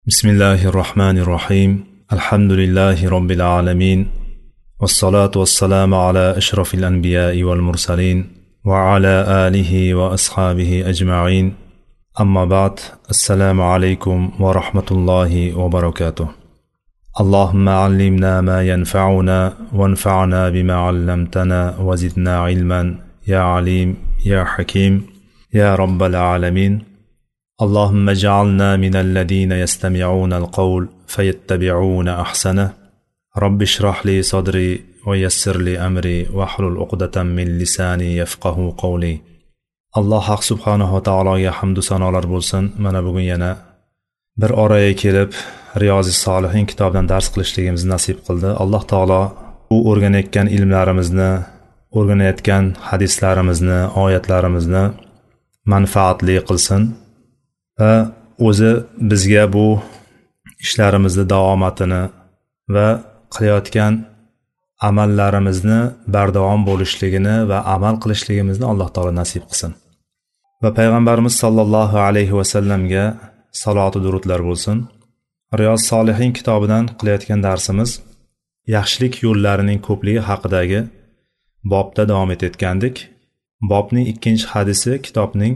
بسم الله الرحمن الرحيم الحمد لله رب العالمين والصلاة والسلام على أشرف الأنبياء والمرسلين وعلى آله وأصحابه أجمعين أما بعد السلام عليكم ورحمة الله وبركاته اللهم علمنا ما ينفعنا وانفعنا بما علمتنا وزدنا علما يا عليم يا حكيم يا رب العالمين اللهم اجعلنا من الذين يستمعون القول فيتبعون أحسنه رب اشرح لي صدري ويسر لي أمري واحلل عقدة من لساني يفقه قولي. Alloh haq subhanahu va taologa hamdu sanolar bo'lsin. Mana bugun yana bir oraga kelib Riyozis Solihin kitobidan dars qilishligimizni nasib qildi. Alloh taolo bu o'rganayotgan ilmlarimizni, o'rganayotgan hadislarimizni, oyatlarimizni manfaatli qilsin va o'zi bizga bu ishlarimizni davomatini va qilayotgan amallarimizni bardavom bo'lishligini va amal qilishligimizni Alloh taolo nasib qilsin. Va payg'ambarimiz sollallohu alayhi va sallamga salot va durudlar bo'lsin. Riyoz Solihin kitobidan qilayotgan darsimiz yaxshilik yo'llarining ko'pligi haqidagi bobda davom etayotgandik. Bobning 2-hadisi kitobning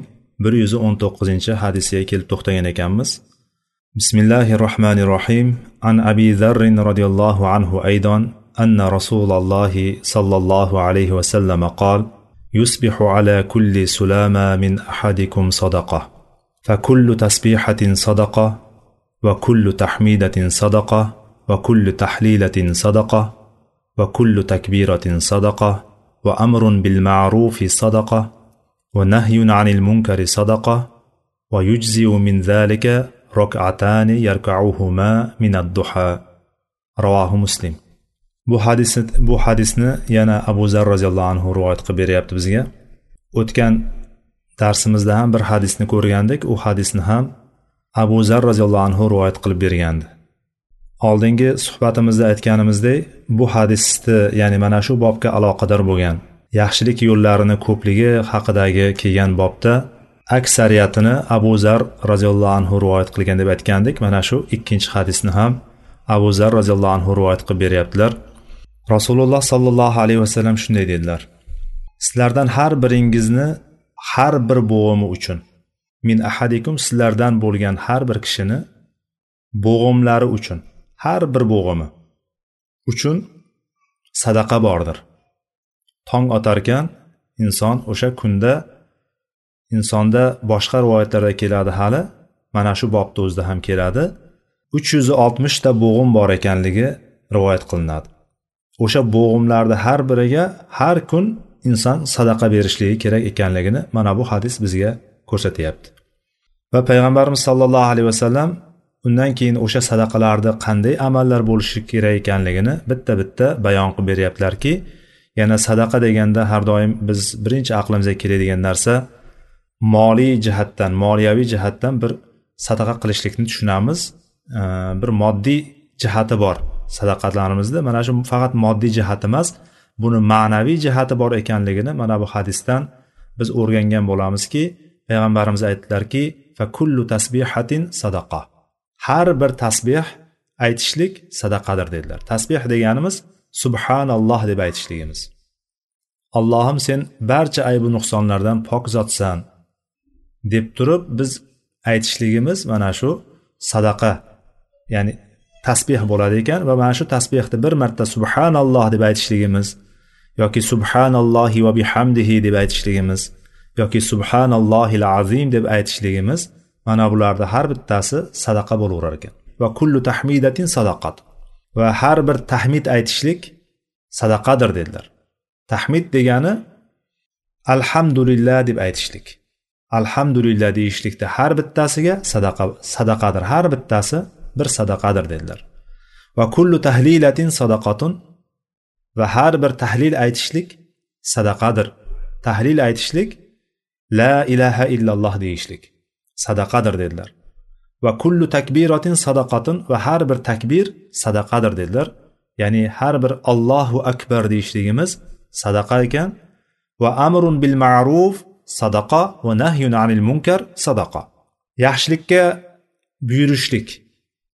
119-hadisiga kelib to'xtagan ekanmiz. Bismillahirrohmanirrohim. An Abi Zarr radhiyallohu anhu aydan anna Rasululloh sallallohu alayhi va sallam qol: Yusbihu ala kulli sulama min ahadikum sadaqa. Fa kullu tasbihatin sadaqa wa kullu tahmidatin sadaqa wa kullu tahlilatin sadaqa wa kullu takbiratin sadaqa wa amrun bil ma'rufi sadaqa wa nahyun 'anil munkari sadaqa wa yujzi'u min dhalika rak'atani yarka'uhuma min ad-duha. Rawahu Muslim. Bu hadisni yana Abu Zarr roziyallohu anhu rivoyat qilib beryapti bizga. O'tgan darsimizda ham bir hadisni ko'rgandik. U hadisni ham Abu Zarr roziyallohu anhu rivoyat qilib bergandi. Oldingi suhbatimizda aytganimizdek, bu hadisni, ya'ni mana shu bobga aloqador bo'lgan yaxshilik yo'llarini ko'pligi haqidagi kelgan bobda aksariyatini Abu Zarr roziyallohu anhu rivoyat qilgan deb aytgandik. Mana shu 2-hadisni ham Abu Zarr roziyallohu anhu rivoyat qilib beryaptilar. Rasululloh sallallohu alayhi va sallam shunday dedilar: Sizlardan har biringizni har bir bo'g'imi uchun, min ahadikum, sizlardan bo'lgan har bir kishini bo'g'imlari uchun, har bir bo'g'imi uchun sadaqa bordir. Tong otarkan inson o'sha kunda insonda boshqa rivoyatlarda keladi, hali mana shu bobda o'zida ham keladi, 360 ta bo'g'im bor ekanligi rivoyat qilinadi. O'sha bo'g'imlarda har biriga har kun inson sadaqa berishligi kerak ekanligini mana bu hadis bizga ko'rsatyapti. Va payg'ambarimiz sollallohu alayhi vasallam undan keyin o'sha sadaqalarda qanday amallar bo'lishi kerak ekanligini bitta-bitta bayon qilib beryaptilarki, yana sadaqa deganda har doim biz birinchi aqlimizga keladigan narsa moliy jihatdan, moliyaviy jihatdan bir sadaqa qilishlikni tushunamiz. Bir moddiy jihati bor sadaqatlarimizda. Mana shu faqat moddiy jihati emas, buni ma'naviy jihati bor ekanligini mana bu hadisdan biz o'rgangan bo'lamizki, payg'ambarimiz aytdilarki, fa kullu tasbihatin sadaqa. Har bir tasbih aytishlik sadaqadir dedilar. Tasbih deganimiz subhanalloh deb aytishligimiz. Allohim, sen barcha aybu nuqsonlardan pok zotsan deb turib biz aytishligimiz mana shu sadaqa, ya'ni tasbih bo'ladi ekan. Va mana shu tasbihni bir marta subhanalloh deb aytishligimiz yoki subhanallohi va bihamdihi deb aytishligimiz yoki subhanallohil azim deb aytishligimiz, mana bularda har bittasi sadaqa bo'laverar ekan. Va kullu tahmidatin sadaqat. Va har bir tahmid aytishlik sadaqadir dedilar. Tahmid degani alhamdulillah deb aytishlik. Alhamdulillah deyishlikda har bittasiga sadaqadir. Har bittasi bir sadaqadir dedilar. Va kullu tahlilatin sadaqatun. Va har bir tahlil aytishlik sadaqadir. Tahlil aytishlik la ilaha illalloh deyishlik sadaqadir dedilar. Va kullu takbiratin sadaqatun. Va har bir takbir sadaqadir dedilar. Ya'ni har bir Allohu akbar deyishligimiz sadaqa ekan. Va amrun bil ma'ruf sadaqa va nahyun 'anil munkar sadaqa. Yaxshilikka buyurishlik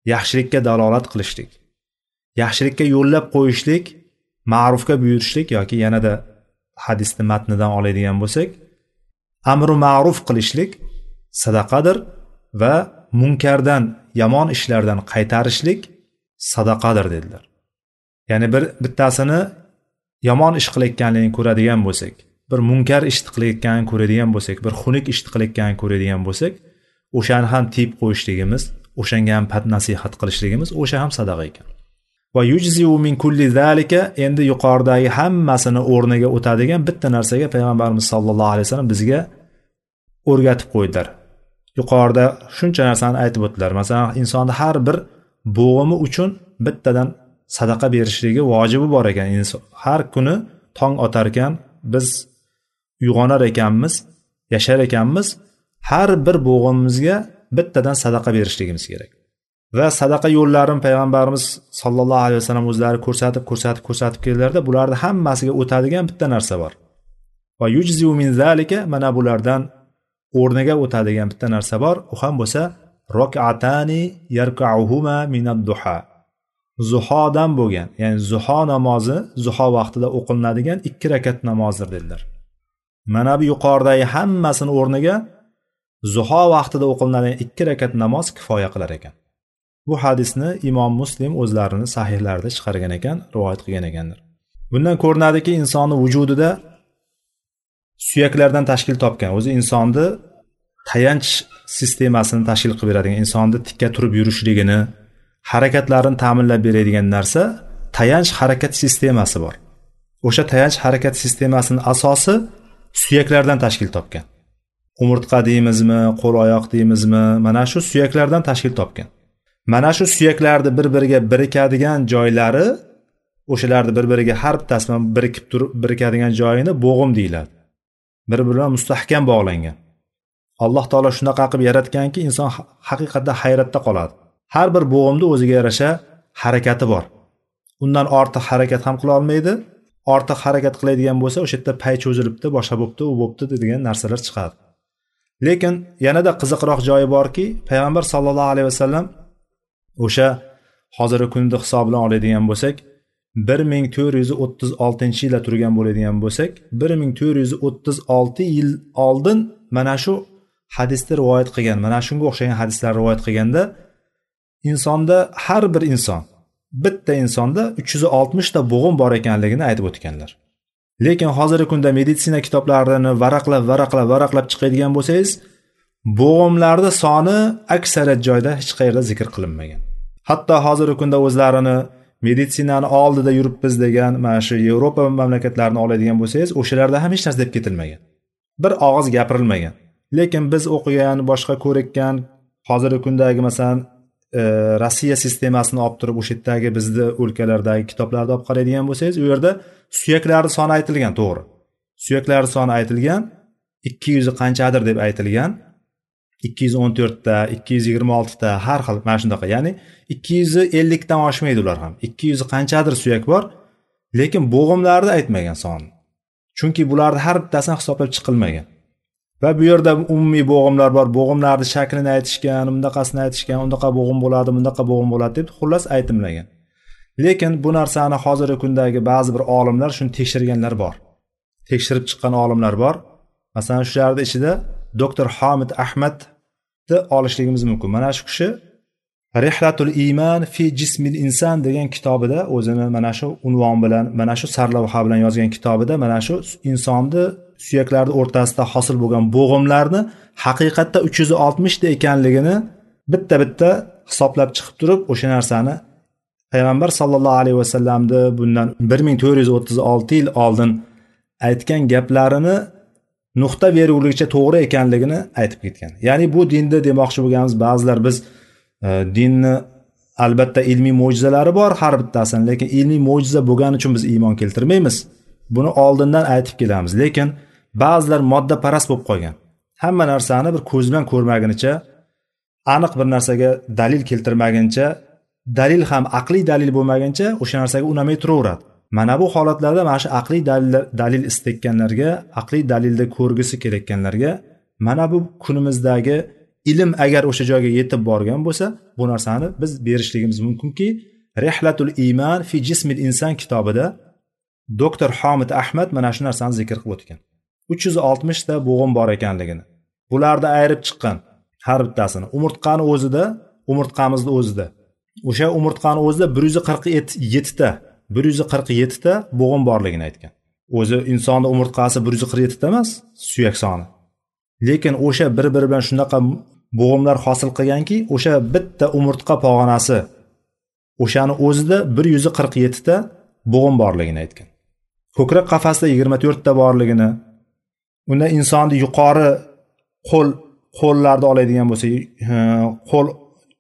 yaxshilikka dalolat qilishlik, yaxshilikka yo'llab qo'yishlik, ma'rufga buyurishlik yoki yanada hadisni matnidan oladigan bo'lsak, amru ma'ruf qilishlik sadaqadir va munkardan, yomon ishlardan qaytarishlik sadaqadir dedilar. Ya'ni bittasini yomon ish qilayotganligini ko'radigan bo'lsak, bir munkar ish qilayotganini ko'radigan bo'lsak, bir xunuk ish qilayotganini ko'radigan bo'lsak, o'shani ham tiyib qo'yishligimiz, o'shanga ham pat nasihat qilishligimiz o'sha ham sadaqa ekan. Va yujziu min kulli zalika, endi yuqoridagi hammasini o'rniga o'tadigan bitta narsaga payg'ambarimiz sollallohu alayhi vasallam bizga o'rgatib qo'ydilar. Yuqorida shuncha narsani aytib o'tdilar. Masalan, insonning har bir bo'g'imi uchun bittadan sadaqa berishligi vojibi bor ekan. Har kuni tong otar ekan, biz uyg'onar ekanmiz, yashar ekanmiz, har bir bo'g'imizga bittadan sadaqa berishligimiz kerak. Va sadaqa yo'llarini payg'ambarimiz sollallohu alayhi vasallam o'zlari ko'rsatib keldilarda, bularning hammasiga o'tadigan bitta narsa bor. Va yujziu min zalika, mana bulardan o'rniga o'tadigan bitta narsa bor. U ham bo'lsa rak'atani yarka'uhuma min ad-duha. Zuhodan bo'lgan, ya'ni zuho namozi, zuho vaqtida o'qilinadigan 2 rakat namozdir dedilar. Mana bu yuqoridagi hammasini o'rniga zuho vaqtida o'qilinadigan 2 rakat namoz kifoya qilar ekan. Bu hadisni Imom Muslim o'zlarini sahihlarida chiqargan ekan, rivoyat qilgan ekanlar. Bundan ko'rinadiki, insonning vujudida suyaklardan tashkil topgan, o'zi insonni tayanch sistemasini tashkil qilib beradigan, insonni tikka turib yurishligini, harakatlarini ta'minlab beradigan narsa tayanch harakat sistemasi bor. O'sha tayanch harakat sistemasining asosi suyaklardan tashkil topgan. Umurtqa deymizmi, qo'l oyoq deymizmi, mana shu suyaklardan tashkil topgan. Mana shu suyaklarni bir-biriga birikadigan joylari, o'shalarni bir-biriga har bittasi birikib turib birikadigan joyini bo'g'im deyiladi. Bir-biriga mustahkam bog'langan. Alloh taolo shunaqa qilib yaratganki, inson haqiqatda hayratda qoladi. Har bir bo'g'imda o'ziga yarasha harakati bor. Undan ortiq harakat ham qila olmaydi. Ortiq harakat qiladigan bo'lsa, o'sha yerda pay cho'zilibdi, boshqa bo'pti, u bo'pti degan narsalar chiqadi. Lekin yanada qiziqroq joyi borki, payg'ambar sollallohu alayhi vasallam o'sha hozirgi kunda hisob bilan oladigan bo'lsak, 1436-yilda turgan bo'ladigan bo'lsak, 1436 yil oldin mana shu hadisni rivoyat qilgan, mana shunga o'xshagan hadislar rivoyat qilganda, insonda har bir inson, bitta insonda 360 ta bo'g'im bor ekanligini aytib o'tganlar. Lekin hozirgi kunda meditsina kitoblarini varaqlab chiqadigan bo'lsangiz, bo'g'imlarning soni aksariyat joyda hech qayerda zikr qilinmagan. Hatto hozirgi kunda o'zlarini meditsinani oldida yuribmiz degan mana shu Yevropa mamlakatlarini oladigan bo'lsangiz, o'shalarda ham hech narsa deb ketilmagan. Bir og'iz gapirilmagan. Lekin biz o'qigan, boshqa ko'rikkan, hozirgi kundagi masalan Rossiya sistemasini olib turib o'sha yerdagi bizning o'lkalardagi kitoblarni olib qaraydigan bo'lsangiz, u yerda suyaklarning soni aytilgan, to'g'ri. Suyaklarning soni aytilgan, 200 qanchadir deb aytilgan. 214 ta, 226 ta, har xil mana shunaqa. Ya'ni 250 dan oshmaydi ular ham. 200 qanchadir suyak bor, lekin bo'g'imlarni aytmagan sonni. Chunki bularning har bittasini hisoblab chiqilmagan. Va bu yerda umumiy bo'g'imlar bor, bo'g'imlarning shaklini aytishgan, undaqasini aytishgan, undaqa bo'g'im bo'ladi, bundaqa bo'g'im bo'ladi deb xullas aytilmagan. Lekin bu narsani hozirgi kundagi ba'zi bir olimlar shuni tekshirganlar bor. Tekshirib chiqqan olimlar bor. Masalan, shularning ichida doktor Hamid Ahmadni olishligimiz mumkin. Mana shu kishi Rihlatul Iman fi Jismil Inson degan kitobida o'zini mana shu unvon bilan, mana shu sarlavha bilan yozgan kitobida mana shu insonni suyaklarning o'rtasida hosil bo'lgan bo'g'imlarni haqiqatda 360 ta ekanligini bitta hisoblab chiqib turib, o'sha narsani payg'ambar sollallohu alayhi vasallamni bundan 1436 yil oldin aytgan gaplarini nuqta beruvligicha to'g'ri ekanligini aytib ketgan. Ya'ni bu dinda demoqchi bo'lganimiz, ba'zilar biz dinni albatta ilmiy mo'jizalari bor har bittasini, lekin ilmiy mo'jiza bo'lgani uchun biz iymon keltirmaymiz. Buni oldindan aytib kelamiz. Lekin ba'zilar modda parast bo'lib qolgan. Hamma narsani bir ko'z bilan ko'rmagunicha, aniq bir narsaga dalil keltirmaguncha, dalil ham aqliy dalil bo'lmaguncha o'sha narsaga unamay turaveradi. Mana bu holatlarda mana shu aqliy dalil istakkanlarga, aqliy dalilda ko'rgisi kelayotganlarga mana bu kunimizdagi ilm agar o'sha joyga yetib borgan bo'lsa, bu narsani biz berishligimiz mumkinki, Rihlatul iman fi jismil inson kitobida doktor Hamid Ahmad mana shu narsani zikr qilib o'tgan. 360 ta bo'g'im bor ekanligini. Bularni ayirib chiqqan har bittasini. Umurtqamizni o'zida. O'sha umurtqani o'zida 147 ta 147 ta bo'g'im borligini aytgan. O'zi insonning umurtqasi 147 ta emas, suyak soni. Lekin o'sha bir-biri bilan shunaqa bo'g'imlar hosil qilganki, o'sha bitta umurtqa pog'onasi o'shani o'zida 147 ta bo'g'im borligini aytgan. Ko'krak qafasida 24 ta borligini, unda insonning yuqori qo'llarni oladigan bo'lsa, qo'l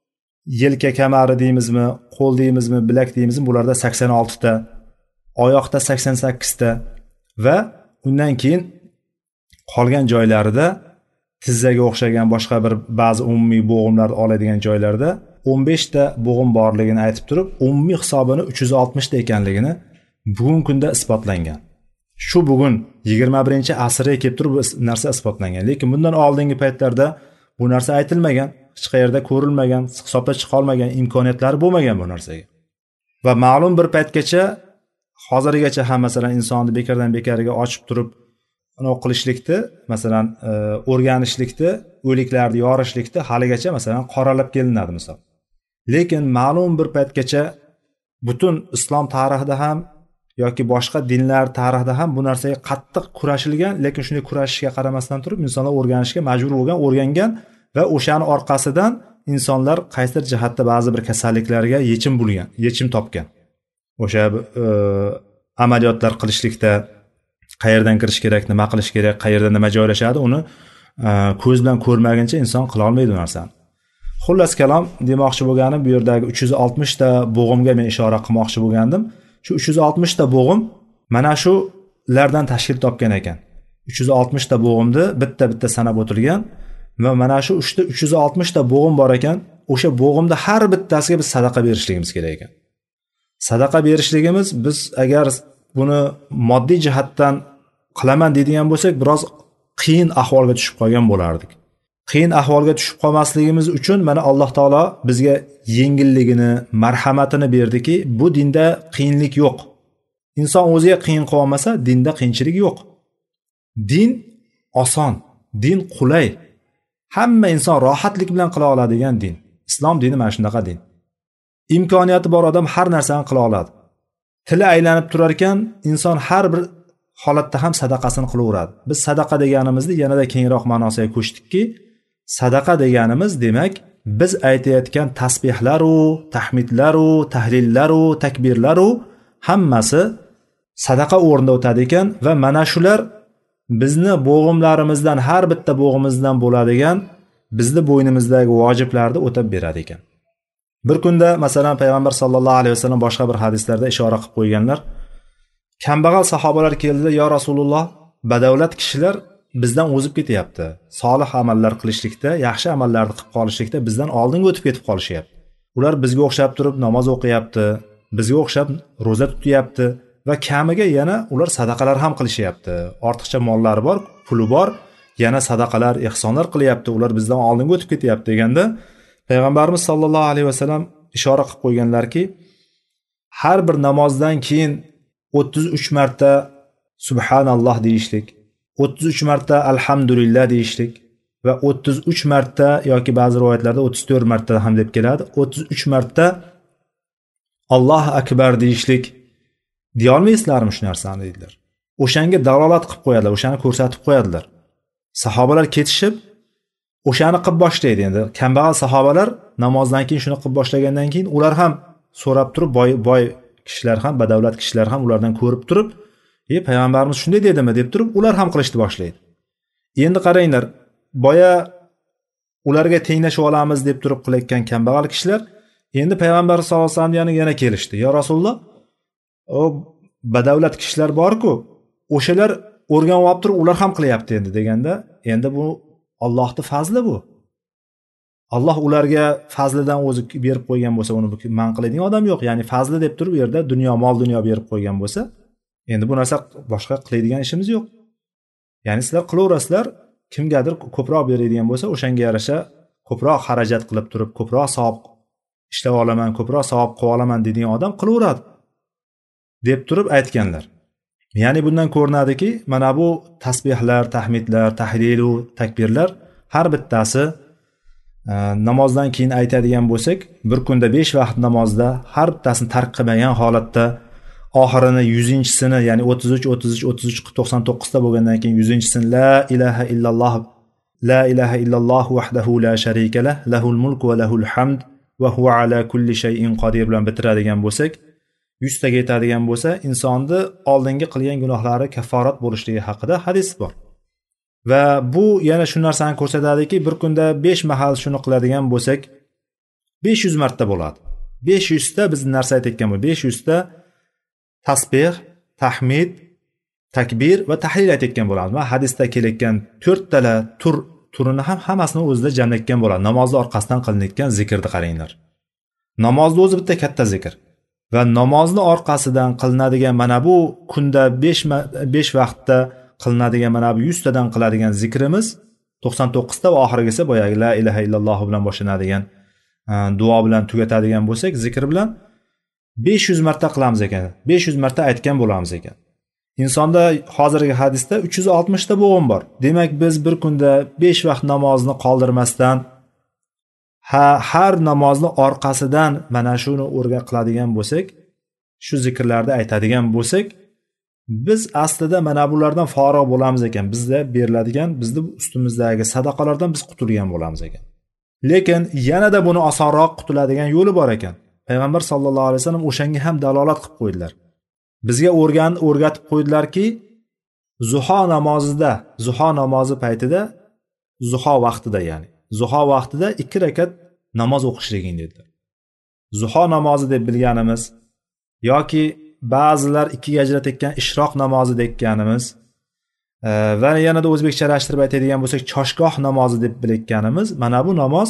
yelka kamari deymizmi, qo'l deymizmi, bilak deymizmi, bularda 86 ta, oyoqda 88 ta va undan keyin qolgan joylarida tizzaga o'xshagan boshqa bir ba'zi umumiy bo'g'imlar oladigan joylarda 15 ta bo'g'im borligini aytib turib, umumiy hisobini 360 ta ekanligini bugungi kunda isbotlangan. Shu bugun 21-asrga kelib turib bu narsa isbotlangan. Lekin bundan oldingi paytlarda bu narsa aytilmagan, hech qayerda ko'rilmagan, hisobda chiqa olmagan, imkoniyatlari bo'lmagan bu narsaga. Va ma'lum bir paytgacha hozirgacha ham masalan insonni bekardan bekariga ochib turib qilishlikda, masalan o'rganishlikda, o'liklarni yorishlikda haligacha masalan qoralab kelinadi misol. Lekin ma'lum bir paytgacha butun islom tarixida ham yoki boshqa dinlar tarixida ham bu narsaga qattiq kurashilgan, lekin shunday kurashishga qaramasdan turib insonlar o'rganishga majbur bo'lgan, o'rgangan va o'shani orqasidan insonlar qaysidir jihatda ba'zi bir kasalliklarga yechim topgan. O'sha amaliyotlar qilishlikda qayerdan kirish kerak, nima qilish kerak, qayerda nima joylashadi, uni ko'z bilan ko'rmaguncha inson qila olmaydi bu narsani. Xullas kalom demoqchi bo'lganim, bu yerdagi 360 ta bo'g'imga men ishora qilmoqchi bo'lgandim. Shu 360 ta bo'g'im mana shulardan tashkil topgan ekan. 360 ta bo'g'imni bitta sanab o'tilgan va mana shu 360 ta bo'g'im bor ekan. O'sha bo'g'imda har bittasiga biz sadaqa berishligimiz kerak ekan. Sadaqa berishligimiz, biz agar buni moddiy jihatdan qilaman deydigan bo'lsak, biroz qiyin ahvolga tushib qolgan bo'lardik. Qiyin ahvolga tushib qolmasligimiz uchun mana Alloh taolo bizga yengilligini, marhamatini berdiki, bu dinda qiyinlik yo'q. Inson o'ziga qiyin qilib olmasa, dinda qiyinchilik yo'q. Din oson, din qulay. Hamma inson rohatlik bilan qila oladigan din. Islom dini mana shunaqa din. Imkoniyati bor odam har narsani qila oladi. Tili aylanib turar ekan, inson har bir holatda ham sadaqasini qilaveradi. Biz sadaqa deganimizni yanada kengroq ma'nosiga ko'chdikki, sadaqa deganimiz demak, biz aytayotgan tasbihlaru, tahmidlaru, tahlillaru, takbirlaru hammasi sadaqa o'rnida o'tadi ekan va mana shular bizni bo'g'imlarimizdan, har bitta bo'g'imizdan bo'ladigan bizni bo'ynimizdagi vojiblarni o'tab beradi ekan. Bir kunda masalan payg'ambar sollallohu alayhi vasallam boshqa bir hadislarda ishora qilib qo'yganlar. Kambag'al sahobalar keldi, "Ya Rasululloh, badavlat kishilar bizdan o'zib ketyapti. Solih amallar qilishlikda, yaxshi amallarni qilib qolishlikda bizdan oldinga o'tib ketib qolishyapti. Ular bizga o'xshab turib namoz o'qiyapti, bizga o'xshab roza tutyapti va kamiga yana ular sadaqalar ham qilishyapti. Ortiqcha mollari bor, puli bor, yana sadaqalar, ehsonlar qilyapti. Ular bizdan oldinga o'tib ketyapti" deganda payg'ambarimiz sollallohu alayhi vasallam ishora qilib qo'yganlarki, har bir namozdan keyin 33 marta subhanalloh deyishlik, 33 marta alhamdulillah deyishlik va 33 marta yoki ba'zi rivoyatlarda 34 marta ham deb keladi. 33 marta Allohu akbar deyishlik deya olmaysizlarmi shu narsani dedilar. O'shanga dalolat qilib qo'yadilar, o'shani ko'rsatib qo'yadilar. Sahobalar ketishib o'shani qilib boshlaydi. Endi kambag'al sahobalar namozdan keyin shuni qilib boshlagandan keyin ular ham so'rab turib, boy kishilar ham, badavlat kishilar ham ulardan ko'rib turib, payg'ambarimiz shunday dedimi deb turib, ular ham qilishni boshlaydi. Endi qaranglar, boya ularga tenglashib olamiz deb turib qilayotgan kambag'al kishilar endi payg'ambar sollallohu alayhi vasallam yana kelishdi. "Ya Rasululloh, o badavlat kishilar bor-ku, o'shalar o'rganib olib turib, ular ham qilyapti endi" deganda, endi bu Allohning fazli bu. Alloh ularga fazlidan o'zi berib qo'ygan bo'lsa, uni man qiladigan odam yo'q. Ya'ni fazli deb turib, u yerda mol dunyo berib qo'ygan bo'lsa, endi bu narsa boshqa qiladigan ishimiz yo'q. Ya'ni sizlar qilaverasizlar, kimgadir ko'proq beradigan bo'lsa, o'shanga yarasha ko'proq xarajat qilib turib, ko'proq savob ishlab olaman, ko'proq savob qilib olaman degan odam qilaveradi deb turib aytganlar. Ya'ni bundan ko'rinadiki, mana bu tasbihlar, tahmidlar, tahlilu, takbirlar har bittasi namozdan keyin aytadigan bo'lsak, bir kunda 5 vaqt namozda har bittasini tark qilmagan holatda oxirini 100-sini, ya'ni 33 ta bo'lgandan keyin 100-sini la ilaha illalloh vahdahu la sharika lah, lahul mulku va lahul hamd va huva ala kulli shay'in qodir bilan bitiradigan bo'lsak, 100 taga yetadigan bo'lsa, insonni oldingi qilgan gunohlari kafforat bo'lishligi haqida hadis bor. Va bu yana shu narsani ko'rsatadiki, bir kunda 5 mahal shuni qiladigan bo'lsak, 500 marta bo'ladi. 500 ta biz narsa aytayotgan bu 500 ta tasbih, tahmid, takbir va tahlil aytayotgan bo'lamiz. Va hadisda kelayotgan 4 tala turini ham hammasini o'zida jamlayotgan bo'ladi. Namozning orqasidan qilinayotgan zikrni qaranglar. Namozning o'zi bitta katta zikr. Va namozni orqasidan qilinadigan mana bu kunda 5 vaqtda qilinadigan mana bu 100 tadan qiladigan zikrimiz 99 ta va oxirgisi boyagi la ilaha illalloh bilan boshlanadigan duo bilan tugatadigan bo'lsak, zikr bilan 500 marta qilamiz ekan. 500 marta aytgan bo'lamiz ekan. Insonda hozirgi hadisda 360 ta bo'g'im bor. Demak, biz bir kunda 5 vaqt namozni qoldirmasdan har namozni orqasidan mana shuni o'rgan qiladigan bo'lsak, shu zikrlarni aytadigan bo'lsak, biz aslida mana bulardan forig' bo'lamiz ekan. Bizda beriladigan, bizning ustimizdagi sadaqalardan biz qutulgan bo'lamiz ekan. Lekin yanada buni osonroq qutuladigan yo'li bor ekan. Payg'ambar sollallohu alayhi vasallam o'shanga ham dalolat qilib qo'ydilar. Bizga o'rgatib qo'ydilarki, zuho namozi paytida, zuho vaqtida, ya'ni zuho vaqtida 2 rakat namoz o'qishliging dedilar. Zuho namozi deb bilganimiz yoki ba'zilar 2ga ajratayotgan ishroq namozi deyotganimiz va yanada o'zbekchalashtirib aytadigan bo'lsak, choshgoh namozi deb bilayotganimiz, mana bu namoz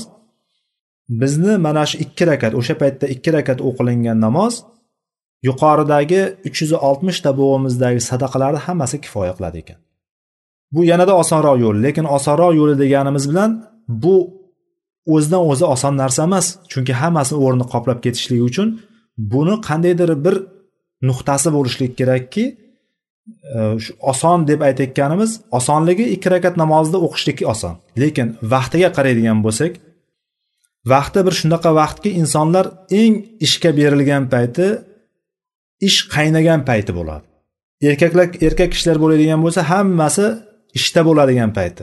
bizni mana shu 2 rakat, o'sha paytda 2 rakat o'qilingan namoz yuqoridagi 360 ta bo'g'imizdagi sadaqalarni hammasi kifoya qiladi ekan. Bu yanada osonroq yo'l, lekin osonroq yo'li deganimiz bilan bu o'zidan o'zi oson narsa emas. Chunki hammasini o'rnini qoplab ketishligi uchun buni qandaydir bir nuqtasi bo'lishligi kerakki, shu oson deb aytayotganimiz, osonligi 2 rakat namozda o'qishlik oson. Lekin vaqtiga qaraydigan bo'lsak, vaqti bir shunaqa vaqtki, insonlar eng ishga berilgan payti, ish qaynagan payti bo'ladi. Erkak kishilar bo'ladigan bo'lsa, hammasi ishda bo'ladigan payti.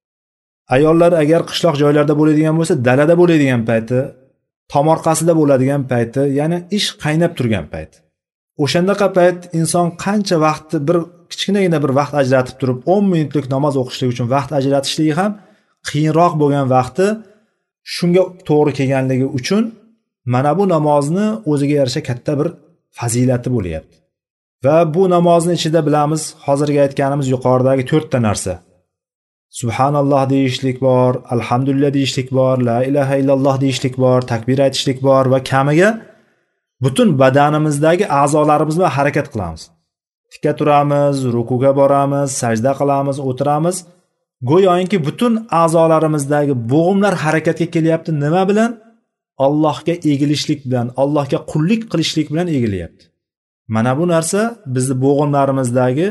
Ayollar agar qishloq joylarda bo'ladigan bo'lsa, dalada bo'ladigan payti, tomorqasida bo'ladigan payti, ya'ni ish qaynab turgan payti. O'shandaqa payt inson qancha vaqtni bir kichkinagina bir vaqt ajratib turib 10 minutlik namoz o'qishlik uchun vaqt ajratishligi ham qiyinroq bo'lgan vaqti shunga to'g'ri kelganligi uchun mana bu namozni o'ziga yarasha katta bir fazilati bo'lyapti. Va bu namozni ichida bilamiz, hozirgi aytganimiz yuqoridagi 4 ta narsa. Subhanalloh deyishlik bor, alhamdulillah deyishlik bor, la ilaha illalloh deyishlik bor, takbir aytishlik bor va kamiga butun badanimizdagi a'zolarimiz bilan harakat qilamiz. Tikka turamiz, rukuga boramiz, sajda qilamiz, o'tiramiz. Go'yoki butun a'zolarimizdagi bo'g'imlar harakatga kelyapti. Nima bilan? Allohga egilishlik bilan, Allohga qullik qilishlik bilan egilyapti. Mana bu narsa bizni bo'g'imlarimizdagi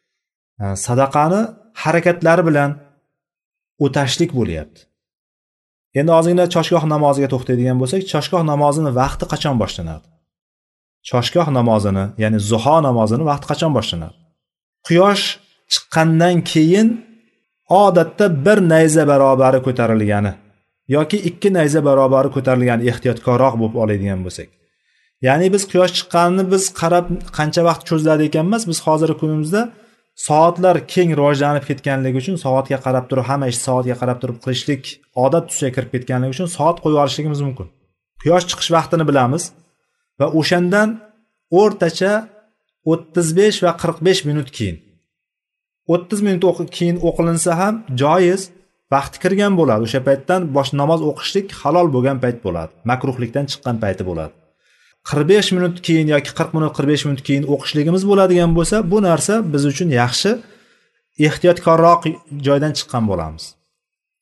sadaqani harakatlari bilan o'tashlik bo'lyapti. Endi ozgina choshgoh namoziga to'xtaydigan bo'lsak, choshgoh namozini vaqti qachon boshlanadi? Choshgoh namozini, ya'ni zuho namozini vaqti qachon boshlanadi? Quyosh chiqqandan keyin odatda 1 nayza barobari ko'tarilgani yoki 2 nayza barobari ko'tarilgani ehtiyotkorroq bo'lib oladigan bo'lsak. Ya'ni biz quyosh chiqqanini biz qarab qancha vaqt cho'ziladi ekanmiz, biz hozirgi kunimizda soatlar keng rivojlanib ketganligi uchun soatga qarab turib, hamma ish soatga qarab turib qilishlik odat tusiga kirib ketganligi uchun soat qo'yib olishligimiz mumkin. Quyosh chiqish vaqtini bilamiz va o'shandan o'rtacha 35 va 45 minut keyin 30 minut keyin o'qilinsa ham joiz, vaqti kirgan bo'ladi. O'sha paytdan namoz o'qishlik halol bo'lgan payt bo'ladi. Makruhlikdan chiqqan payti bo'ladi. 45 minut keyin yoki 40 minut 45 minut keyin o'qishligimiz bo'ladigan bo'lsa, bu narsa biz uchun yaxshi, ehtiyotkorroq joydan chiqqan bo'lamiz.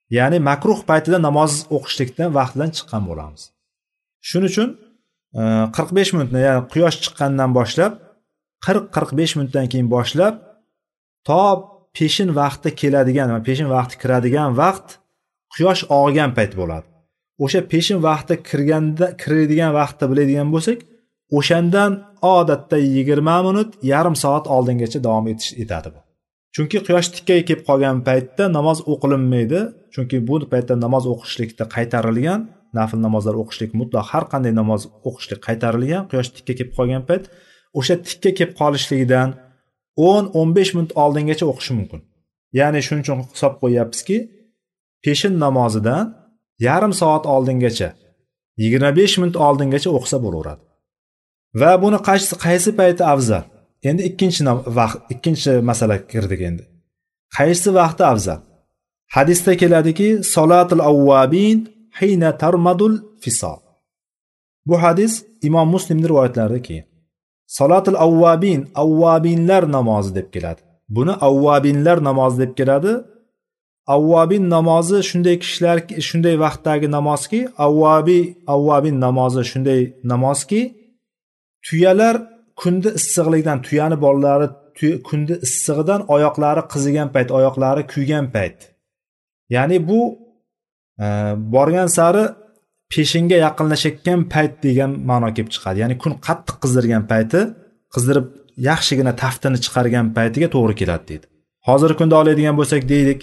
Ya'ni makruh paytida namoz o'qishlikdan vaqtdan chiqqan bo'lamiz. Shuning uchun 45 minutni, ya'ni quyosh chiqqandan boshlab 40-45 minutdan keyin boshlab to peshin vaqti keladigan va peshin vaqti kiradigan vaqt quyosh og'gan payt bo'ladi. O'sha peshin vaqti kiradigan vaqtni biladigan bo'lsak, o'shandan odatda 20 minut, yarim soat oldingacha davom etadi bu. Chunki quyosh tikkaga kelib qolgan paytda namoz o'qilinmaydi. Chunki bu paytda namoz o'qishlikda qaytarilgan, nafl namozlar o'qishlik mutlaq har qanday namoz o'qishlik qaytarilgan. Quyosh tikka kelib qolgan payt o'sha tikka kelib qolishligidan 10-15 minut oldingacha o'qish mumkin. Ya'ni shuning uchun hisob qo'yapmizki, peshin namozidan yarim soat oldingacha 25 minut oldingacha o'qisa bo'laveradi. Va buni qaysi payti afzal? Endi ikkinchi masala kirdik endi. Qaysi vaqti afzal? Hadisda keladiki, salatul awwabin hina tarmadul fisal. Bu hadis Imom Muslimning rivoyatlarida kelgan. Salatul awwabin, awwabinlar namozi deb keladi. Buni awwabinlar namozi deb keladi. Avvabin namozi shunday kishilar, shunday vaqtdagi namozki, avvabin namozi shunday namozki, tuyalar kundi issiqlikdan, tuyani bolalari kundi issig'idan oyoqlari qizigan payt, oyoqlari kuygan payt. Ya'ni bu borgan sari peshinga yaqinlashayotgan payt degan ma'no kelib chiqadi. Ya'ni kun qattiq qizdirgan payti, qizdirib yaxshigina taftini chiqargan paytiga to'g'ri keladi deydi. Hozirgi kunda oladigan bo'lsak deylik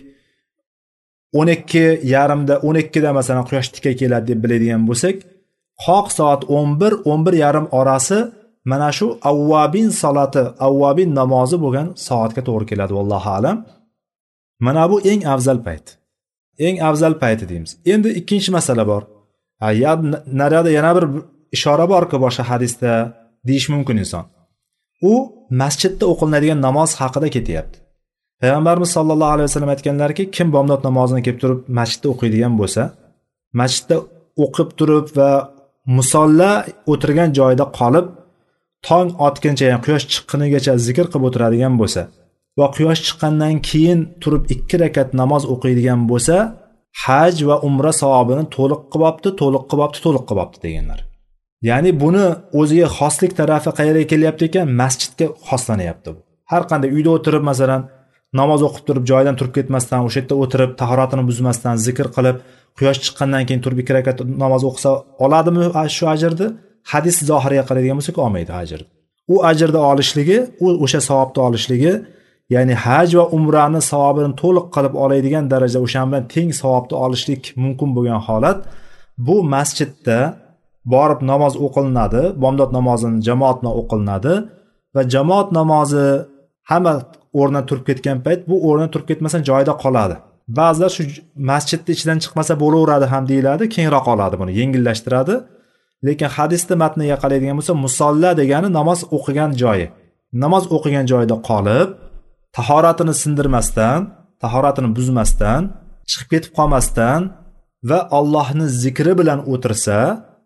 12:30da masalan quyosh tikka keladi deb biladigan bo'lsak, qoq soat 11 yarim orasi mana shu avvabin salati, avvabin namozi bo'lgan soatga to'g'ri keladi vallohu alam. Mana bu eng afzal payt. Eng afzal payti deymiz. Endi ikkinchi masala bor. Narada yana bir ishora borki, boshqa hadisda deyish mumkin inson. U masjidda o'qilinadigan namoz haqida ketyapti. Payg'ambarimiz sollallohu alayhi vasallam aytganlarki, kim bomdod namozini kelib turib masjidda o'qiydigan bo'lsa, masjidda o'qib turib va musalla o'tirgan joyida qolib, tong otguncha, ya'ni quyosh chiqqunigacha zikr qilib o'tiradigan bo'lsa va quyosh chiqqandan keyin turib 2 rakat namoz o'qiydigan bo'lsa, haj va umra savobini to'liq qilibdi deganlar. Ya'ni buni o'ziga xoslik tarafi qayerga kelyapti ekan? Masjidga xoslanyapti bu. Har qanday uyda o'tirib masalan namoz o'qib turib joyidan turib ketmasdan, o'sha yerda o'tirib tahoratini buzmasdan zikr qilib, quyosh chiqqandan keyin turib 2 rakat namoz o'qisa oladimi shu ajrni? Hadis zohiriga qaraydigan bo'lsak, olmaydi ajrni. U ajrni olishligi, o'sha savobni olishligi, ya'ni haj va umrani savobini to'liq qilib oladigan darajada o'sha bilan teng savobni olishlik mumkin bo'lgan holat bu masjidda borib namoz o'qilinadi, bomdod namozini jamoat bilan o'qilinadi va jamoat namozi hamma o'rnidan turib ketgan payt bu o'rnidan turib ketmasa joyida qoladi. Ba'zilar shu masjidning ichidan chiqmasa bo'laveradi ham deyiladi, kengroq oladi buni, yengillashtiradi. Lekin hadisning matniga qaraydigan bo'lsa, musalla degani namoz o'qigan joyi. Namoz o'qigan joyida qolib, tahoratini sindirmasdan, tahoratini buzmasdan, chiqib ketib qolmasdan va Allohning zikri bilan o'tirsa,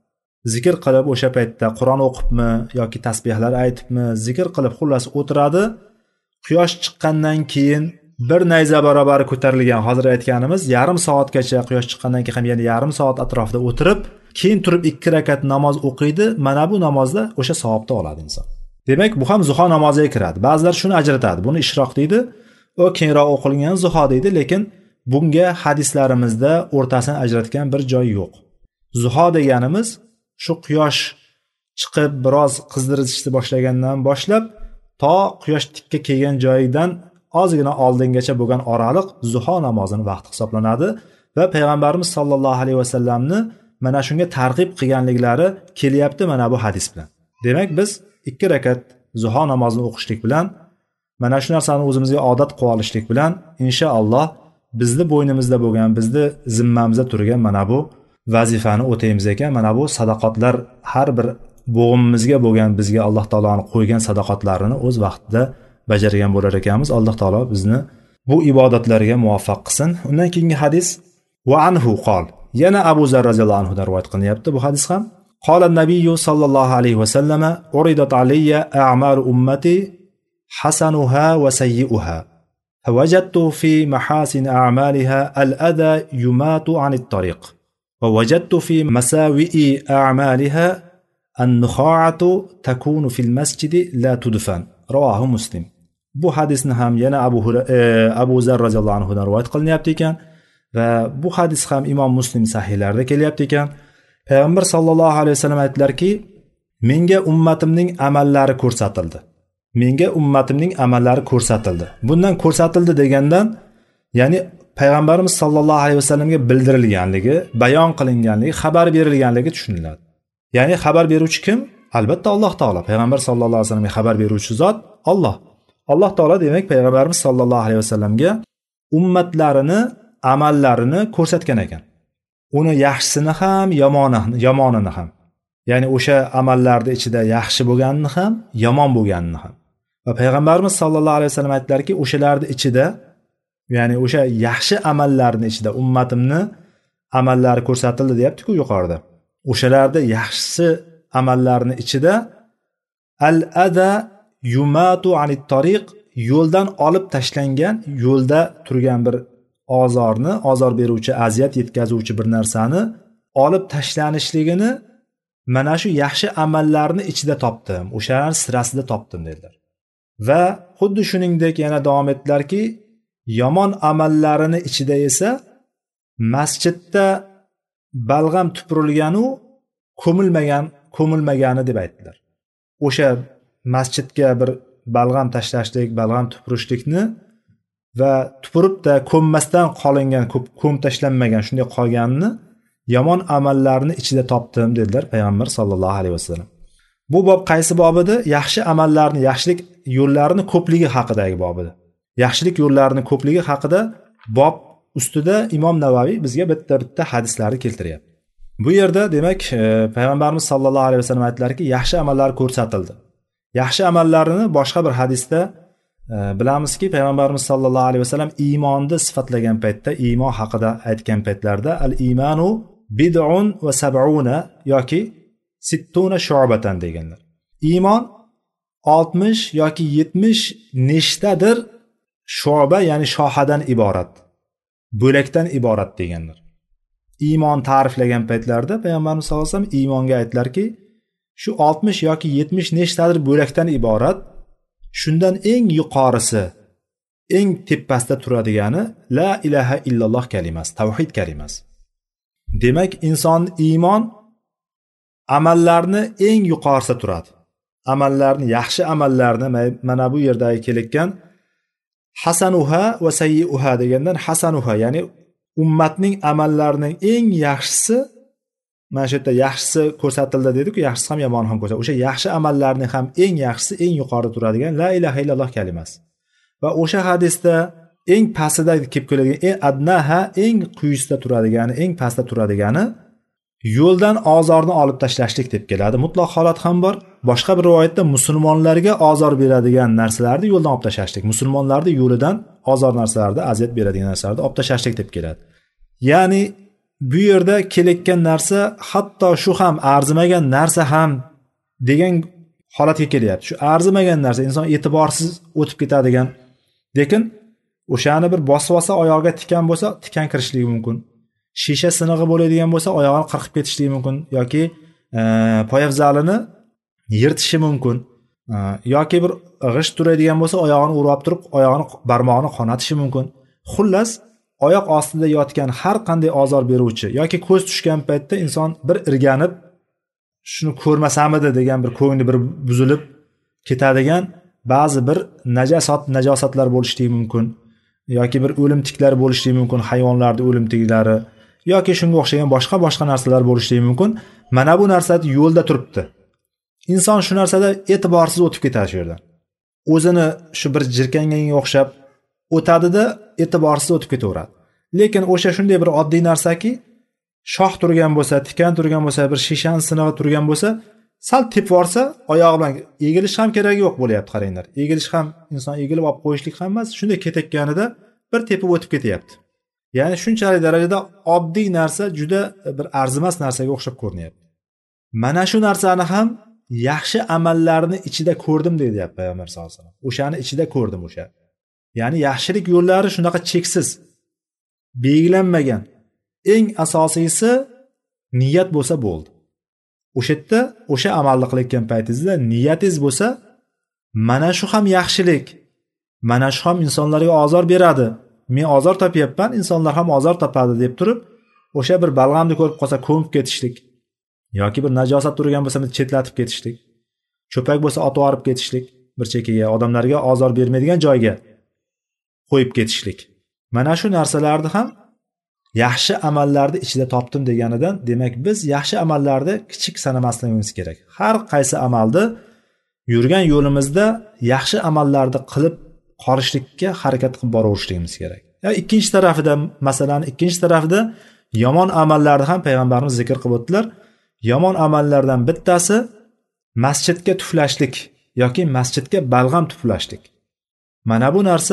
zikr qilib o'sha paytda Qur'on o'qibmi yoki tasbihlar aytibmi, zikr qilib xullas o'tiradi. Quyosh chiqqandan keyin bir nayza barobar ko'tarilgan, hozir aytganimiz yarim soatgacha, quyosh chiqqandan keyin ham yana yarim soat atrofida o'tirib, keyin turib 2 rakat namoz o'qiydi. Mana bu namozda o'sha savobni oladi inson. Demak, bu ham zuho namoziga kiradi. Ba'zilar shuni ajratadi. Buni ishroq deydi, o keyinroq o'qilgan zuho deydi, lekin bunga hadislarimizda o'rtasini ajratgan bir joy yo'q. Zuho deganimiz shu quyosh chiqib biroz qizdirishni boshlagandan boshlab to quyosh tikka kelgan joyidan ozgina oldingacha bo'lgan oraliq zuho namozining vaqti hisoblanadi va payg'ambarimiz sollallohu alayhi vasallamni mana shunga targ'ib qilganliklari kelyapti mana bu hadis bilan. Demak, biz 2 rakat zuho namozini o'qishlik bilan, mana shu narsani o'zimizga odat qilib olishlik bilan inshaalloh bizni bo'ynimizda bo'lgan, bizni zimmamizda turgan mana bu vazifani o'taymiz ekan. Mana bu sadaqotlar, har bir bo'g'imimizga bo'lgan bizga Alloh taoloning qo'ygan sadaqotlarini o'z vaqtida bajargan bo'lar ekanmiz. Alloh taolo bizni bu ibodatlarga muvaffaq qilsin. Undan keyingi hadis va anhu qol. Yana Abu Zar roziyallohu anhu dan rivoyat qilinyapti bu hadis ham. Qala an-nabiy sallallohu alayhi va sallama uridat alayya a'malu ummati hasanuha va sayyi'uha وجدت في محاسن أعمالها الأذى يمات عن الطريق ووجدت في مساوئ أعمالها النخاعة تكون في المسجد لا تدفن. رواه مسلم. Bu hadisni ham yana Abu Zar roziyallohu anhudan rivoyat qilinyapti ekan va bu hadis ham Imom Muslim sahihlarida kelyapti ekan. Payg'ambar sallallohu alayhi vasallam aytdilarki, menga ummatimning amallari ko'rsatildi. Menga ummatimning amallari ko'rsatildi. Bundan ko'rsatildi degandan, ya'ni payg'ambarimiz sallallohu alayhi vasallamga bildirilganligi, bayon qilinganligi, xabar berilganligi tushuniladi. Ya'ni xabar beruvchi kim? Albatta Alloh taolo. Payg'ambar sallallohu alayhi vasallamga xabar beruvchi zot Alloh. Alloh taolo demak payg'ambarimiz sallallohu alayhi vasallamga ummatlarini amallarini ko'rsatgan ekan. Uni yaxshisini ham, yomonini ham. Ya'ni o'sha amallarning ichida yaxshi bo'lganini ham, yomon bo'lganini ham. Va payg'ambarimiz sallallohu alayhi vasallam aytdilarki, o'shalarning ichida, ya'ni o'sha yaxshi amallarning ichida ummatimni amallari ko'rsatildi deyapti-ku yuqorida. O'shalarda yaxshi amallarning ichida al-ada yumatu anit tariq, yo'ldan olib tashlangan, yo'lda turgan bir ozor beruvchi, aziyat yetkazuvchi bir narsani olib tashlanishligini mana shu yaxshi amallarni ichida topdim, o'shalar sirasida topdim dedilar. Va xuddi shuningdek yana davom etdilarki, yomon amallarini ichida esa masjidda balg'am tupurilganu ko'milmagani deb aytdilar. O'sha masjidga bir balg'am tashlashlik, balg'am tupurishlikni va tupuribda ko'mmasdan qolingan, ko'm tashlanmagan, shunday qolganini yomon amallarni ichida topdim dedilar payg'ambar sallallohu alayhi vasallam. Bu bob qaysi bob edi? Yaxshi amallarni, yaxshilik yo'llarini ko'pligi haqidagi bob edi. Yaxshilik yo'llarini ko'pligi haqida bob ustida Imom Navaviy bizga bitta hadislarni keltiryapti. Bu yerda demak payg'ambarimiz sallallohu alayhi vasallam aytdilarki, yaxshi amallar ko'rsatildi. Yaxshi amallarni boshqa bir hadisda bilamizki, payg'ambarimiz sallallohu alayhi vasallam iymonni sifatlagan paytda, iymon haqida aytgan paytlarda al-iymanu bid'un va sab'una yoki sittuna shu'batan deganlar. Iymon 60 yoki 70 nechtadir shu'ba, ya'ni shohadan iborat, bo'lakdan iborat deganlar. Iymon ta'riflagan paytlarda payg'ambarimiz sallallohu alayhi vasallam iymonga aytdilarki, shu 60 yoki 70 nechtadir bo'lakdan iborat, shundan eng yuqorisi, eng tepasida turadigani la ilaha illalloh kalimasi, tavhid kalimasi. Demak, inson iymon amallarni eng yuqorisida turadi. Amallarni, yaxshi amallarni mana bu yerdagi kelayotgan hasanuha va sayyiuha degandan hasanuha, ya'ni ummatning amallarining eng yaxshisi, mana shu yerda yaxshisi ko'rsatildi dedi-ku, yaxshisi ham yomoni ham ko'rsatildi. O'sha yaxshi amallarning ham eng yaxshisi, eng yuqorida turadigan la ilaha illalloh kalimasi. Va o'sha hadisda eng pastida kelib keladigan, eng adnaha, eng quyisida turadigani, eng pastda turadigani yo'ldan ozorni olib tashlashlik deb keladi. Mutlaq holat ham bor. Boshqa bir rivoyatda musulmonlarga ozor beradigan narsalarni yo'ldan olib tashlashlik, musulmonlarning yo'lidan ozor narsalarni, aziyat beradigan narsalarni olib tashlashlik deb keladi. Ya'ni bu yerda kelayotgan narsa hatto shu ham arzimagan narsa ham degan holatga kelyapti. Shu arzimagan narsa inson e'tiborsiz o'tib ketadigan, lekin o'shani bir bosib olsa, oyog'iga tikan bo'lsa, tikan kirishligi mumkin. Shisha sinig'i bo'ladigan bo'lsa, oyog'ini qirqib ketishligi mumkin yoki poyafzalini yirtishi mumkin. Yoki bir g'isht turadigan bo'lsa, oyog'ini urib turib, oyog'ini barmog'ini qonatishi mumkin. Xullas, oyoq ostida yotgan har qanday ozor beruvchi yoki ko'z tushgan paytda inson bir irganib, shuni ko'rmasamidi degan bir ko'ngli bir buzilib ketadigan ba'zi bir najosatlar bo'lishligi mumkin yoki bir o'limtiklar bo'lishligi mumkin, hayvonlarning o'limtiklari yoki shunga o'xshagan boshqa narsalar bo'lishligi mumkin. Mana bu narsa yo'lda turibdi. Inson shu narsada e'tiborsiz o'tib ketadi shu yerdan. O'zini shu bir jirkanganga o'xshab o'tadida e'tiborsiz o'tib ketaveradi. Lekin o'sha shunday bir oddiy narsaki, shoh turgan bo'lsa, tikan turgan bo'lsa, bir shishan sinig'i turgan bo'lsa, sal tepib yorsa, oyog'i bilan egilish ham keragi yo'q bo'lyapti, qaranglar. Egilish ham, inson egilib olib qo'yishlik ham emas, shunday ketayotganida bir tepib o'tib ketyapti. Ya'ni shunchalik darajada oddiy narsa juda bir arzimas narsaga o'xshab ko'rinyapti. Mana shu narsani ham yaxshi amallarni ichida ko'rdim deyapti Payg'ambar sollallohu alayhi vasallam. O'shani ichida ko'rdim o'sha. Ya'ni yaxshilik yo'llari shunaqa cheksiz, belgilanmagan. Eng asosiysi niyat bo'lsa bo'ldi. O'sha yerda o'sha amalni qilayotgan paytingizda niyatingiz bo'lsa, mana shu ham yaxshilik, mana shu ham insonlarga ozor beradi, men ozor topyapman, insonlar ham ozor topadi deb turib, o'sha bir balg'amni ko'rib qolsa ko'mib ketishlik yoki bir najosat turgan bo'lsa chetlatib ketishlik, cho'pak bo'lsa otib olib ketishlik, bir chekkaga odamlarga ozor bermaydigan joyga qo'yib ketishlik. Mana shu narsalarni ham yaxshi amallarni ichida topdim deganidan, demak biz yaxshi amallarni kichik sanamasligimiz kerak. Har qaysi amalni yurgan yo'limizda yaxshi amallarni qilib qolishlikka harakat qilib boraverishligimiz kerak. Ikkinchi tarafida, masalan, ikkinchi tarafida yomon amallarni ham payg'ambarimiz zikr qilib o'tdilar. Yomon amallardan bittasi masjidga tuflashlik yoki masjidga balg'am tuflashlik. Mana bu narsa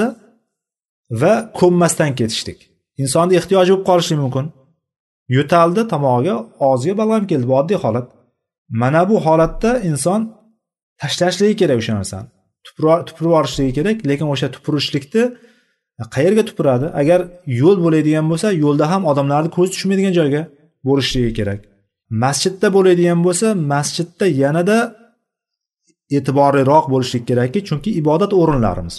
va ko'mmasdan ketishlik. Insonning ehtiyoji bo'lib qolishi mumkin. Yo'taldi tomog'iga, og'ziga balg'am keldi, bu oddiy holat. Mana bu holatda inson tashlashligi kerak o'sha narsani. Tupurib yuborishligi kerak, lekin o'sha tupurishlikni qayerga tupuradi? Agar yo'l bo'ladigan bo'lsa, yo'lda ham odamlarning ko'zi tushmaydigan joyga bo'lishligi kerak. Masjidda bo'ladigan bo'lsa, masjidda yanada e'tiborliroq bo'lishlik kerakki, chunki ibodat o'rinlarimiz.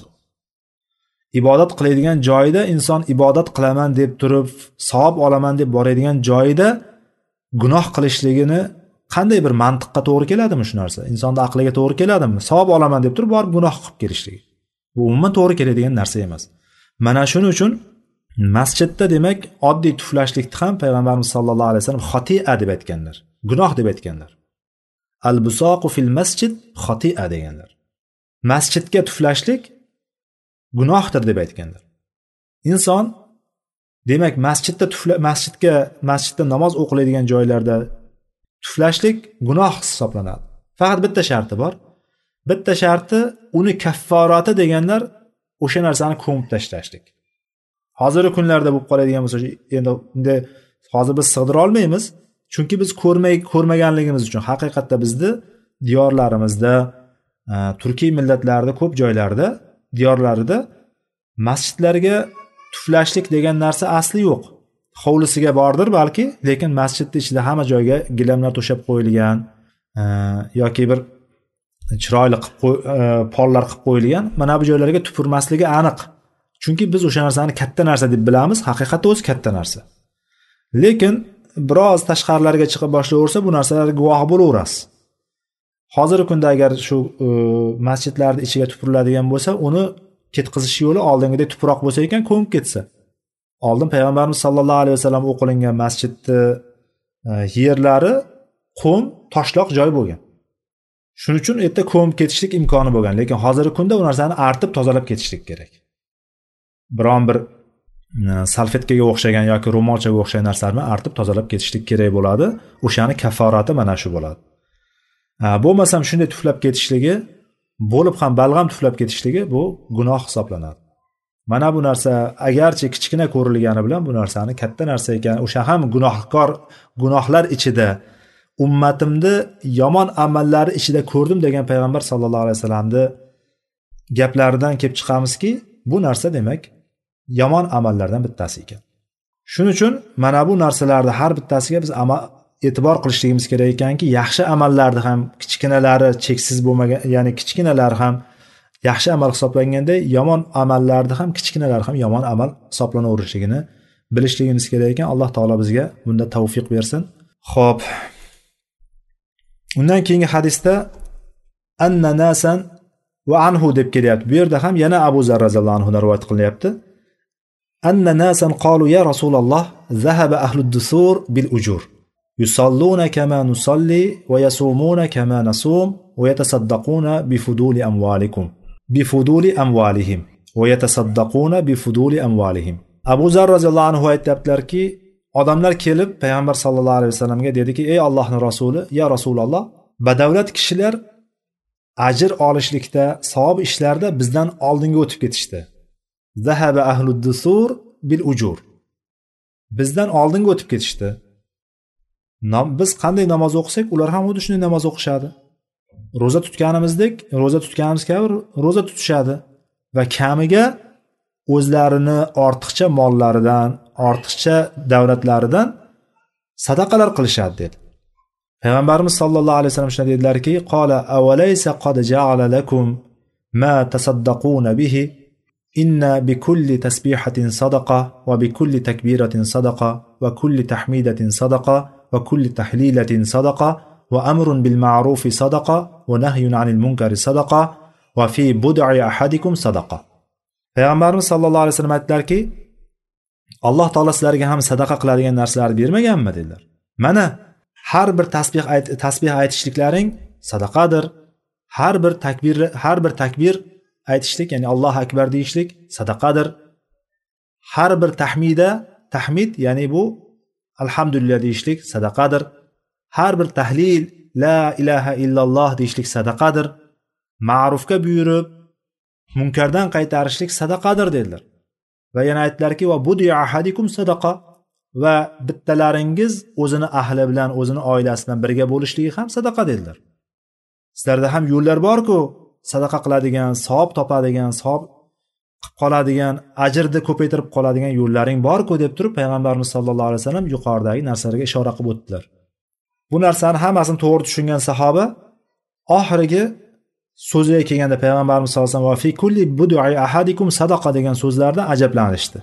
Ibodat qiladigan joyida inson ibodat qilaman deb turib, savob olaman deb boradigan joyida gunoh qilishligini qanday bir mantiqqa to'g'ri keladimi shu narsa? Insonning aqliga to'g'ri keladimi? Savob olaman deb turib borib gunoh qilib kelishligi. Bu umuman to'g'ri keladigan narsa emas. Mana shuning uchun masjidda demak oddiy tuflashlikni ham payg'ambarimiz sollallohu alayhi vasallam xoti'a deb aytganlar. Gunoh deb aytganlar. Al-busaqu fil masjid xoti'a deganlar. Masjidga tuflashlik gunohdir deb aytganlar. Inson demak masjidda namoz o'qiladigan joylarda tuflashlik gunoh hisoblanadi. Faqat bitta sharti bor. Bitta sharti uni kafforati deganlar o'sha narsani ko'mib tashlashlik. Hozirgi kunlarda bo'lib qoladigan bo'lsa, endi unda hozir biz sig'dira olmaymiz, chunki biz ko'rmaganligimiz uchun haqiqatda bizni diyorlarimizda, turkiy millatlarda ko'p joylarda, diyorlarida masjidlarga tuflashlik degan narsa asli yo'q. Hovlisiga bordir balki, lekin masjidning ichida hamma joyga gilamlar to'shab qo'yilgan yoki bir chiroyli pollar qilib qo'yilgan. Mana bu joylarga tupurmasligi aniq. Chunki biz o'sha narsani katta narsa deb bilamiz, haqiqatda o'zi katta narsa. Lekin biroz tashqarilarga chiqib boshlayversa, bu narsalarga guvoh bo'laverasiz. Hozirgi kunda agar shu masjidlarning ichiga tupuriladigan bo'lsa, uni ketqizish yo'li oldingidek tuproq bo'lsa ekan, ko'mib ketsa. Oldin payg'ambarimiz sollallohu alayhi vasallam o'qilingan masjidni yerlari qum, toshloq joy bo'lgan. Shuning uchun erta ko'mib ketishlik imkoni bo'lgan, lekin hozirgi kunda u narsani artib tozalab ketishlik kerak. Biron bir salfetkaga o'xshagan yoki ro'molchaga o'xshagan narsalarni artib tozalab ketishlik kerak bo'ladi. O'shani kafforati mana shu bo'ladi. Bo'lmasam shunday tuflab ketishligi, bo'lib ham balg'am tuflab ketishligi bu gunoh hisoblanadi. Mana bu narsa agarchi kichkina ko'rilgani bilan bu narsani katta narsa ekan, o'sha ham gunohlar ichida ummatimni yomon amallari ichida ko'rdim degan payg'ambar sollallohu alayhi vasallamni gaplaridan kelib chiqamizki, bu narsa demak yomon amallardan bittasi ekan. Shuning uchun mana bu narsalarni har bittasiga biz e'tibor qilishligimiz kerak ekanki, yaxshi amallarni ham kichkinalari cheksiz bo'lmagan, ya'ni kichkinalari ham yaxshi amal hisoblanganda, yomon amallarni ham kichkinalari ham yomon amal hisoblanaverishligini bilishligimiz kerak ekan. Alloh taolo bizga bunda tavfiq bersin. Xo'p. Undan keyingi hadisda anna nasan va anhu deb kelyapti. Bu yerda ham yana Abu Zar roziyallohu anhu rivoyat qilyapti. Anna nasan qalu ya Rasululloh zahaba ahlud dusur bil ujur. Yusalluna kama nusalli va yasumuna kama nasum va yatasaddaquna bi fuduli amwalikum. Bi fuduli amwalihim va yatasaddaquna bi fuduli amwalihim. Abu Zar roziyallohu anhu aytibdilarki, odamlar kelib payg'ambar sollallohu alayhi vasallamga dediki, ey Allohning rasuli, ya Rasululloh, badavlat kishilar ajr olishlikda, savob ishlarda bizdan oldinga o'tib ketishdi. Zahaba ahlud dusur bil ujur. Bizdan oldinga o'tib ketishdi. Biz qanday namoz o'qisak, ular ham xuddi shunday namoz o'qishadi. Roza tutganimiz kabi roza tutishadi va kamiga o'zlarini ortiqcha mollaridan, ortiqcha davlatlaridan sadaqalar qilishadi dedi. Payg'ambarimiz sollallohu alayhi vasallam shunday dedilarki, qola avalaysa qad ja'ala lakum ma tasaddaquna bihi inna bikulli tasbihatin sadaqa va bikulli takbiratin sadaqa va kulli tahmidatin sadaqa va kulli tahlilatin sadaqa va amrun bil ma'rufi sadaqa va nahyun 'anil munkari sadaqa va fi bud'i ahadikum sadaqa. Payg'ambarimiz sollallohu alayhi vasallam aytdilarki, Alloh taolo sizlarga ham sadaqa qiladigan narsalarni bermaganmi dedilar. Mana har bir tasbih aytishliklaring sadaqadir. Har bir takbir aytishlik, ya'ni Allohu akbar deyishlik sadaqadir. Har bir tahmid, ya'ni bu alhamdulillah deyishlik sadaqadir. Har bir tahlil, la ilaha illalloh deyishlik sadaqadir. Ma'rufga buyurib, munkardan qaytarishlik sadaqadir dedilar. Va yana aytdilarki, va budi ahadikum sadaqa, va bittalaringiz o'zini ahli bilan, o'zini oilasi bilan birga bo'lishligi ham sadaqa dedilar. Sizlarda ham yo'llar bor-ku, sadaqa qiladigan, savob topadigan, savob qilib qoladigan, ajrni ko'paytirib qoladigan yo'llaring bor-ku deb turib Payg'ambarimiz sollallohu alayhi vasallam yuqoridagi narsalarga ishora qilib o'tdilar. Bu narsani hammasini to'g'ri tushungan sahoba oxirgi so'ziga kelganda Payg'ambarimiz sollallohu alayhi vasallam va fi kulli bud'i ahadikum sadaqa degan so'zlardan ajablanishdi.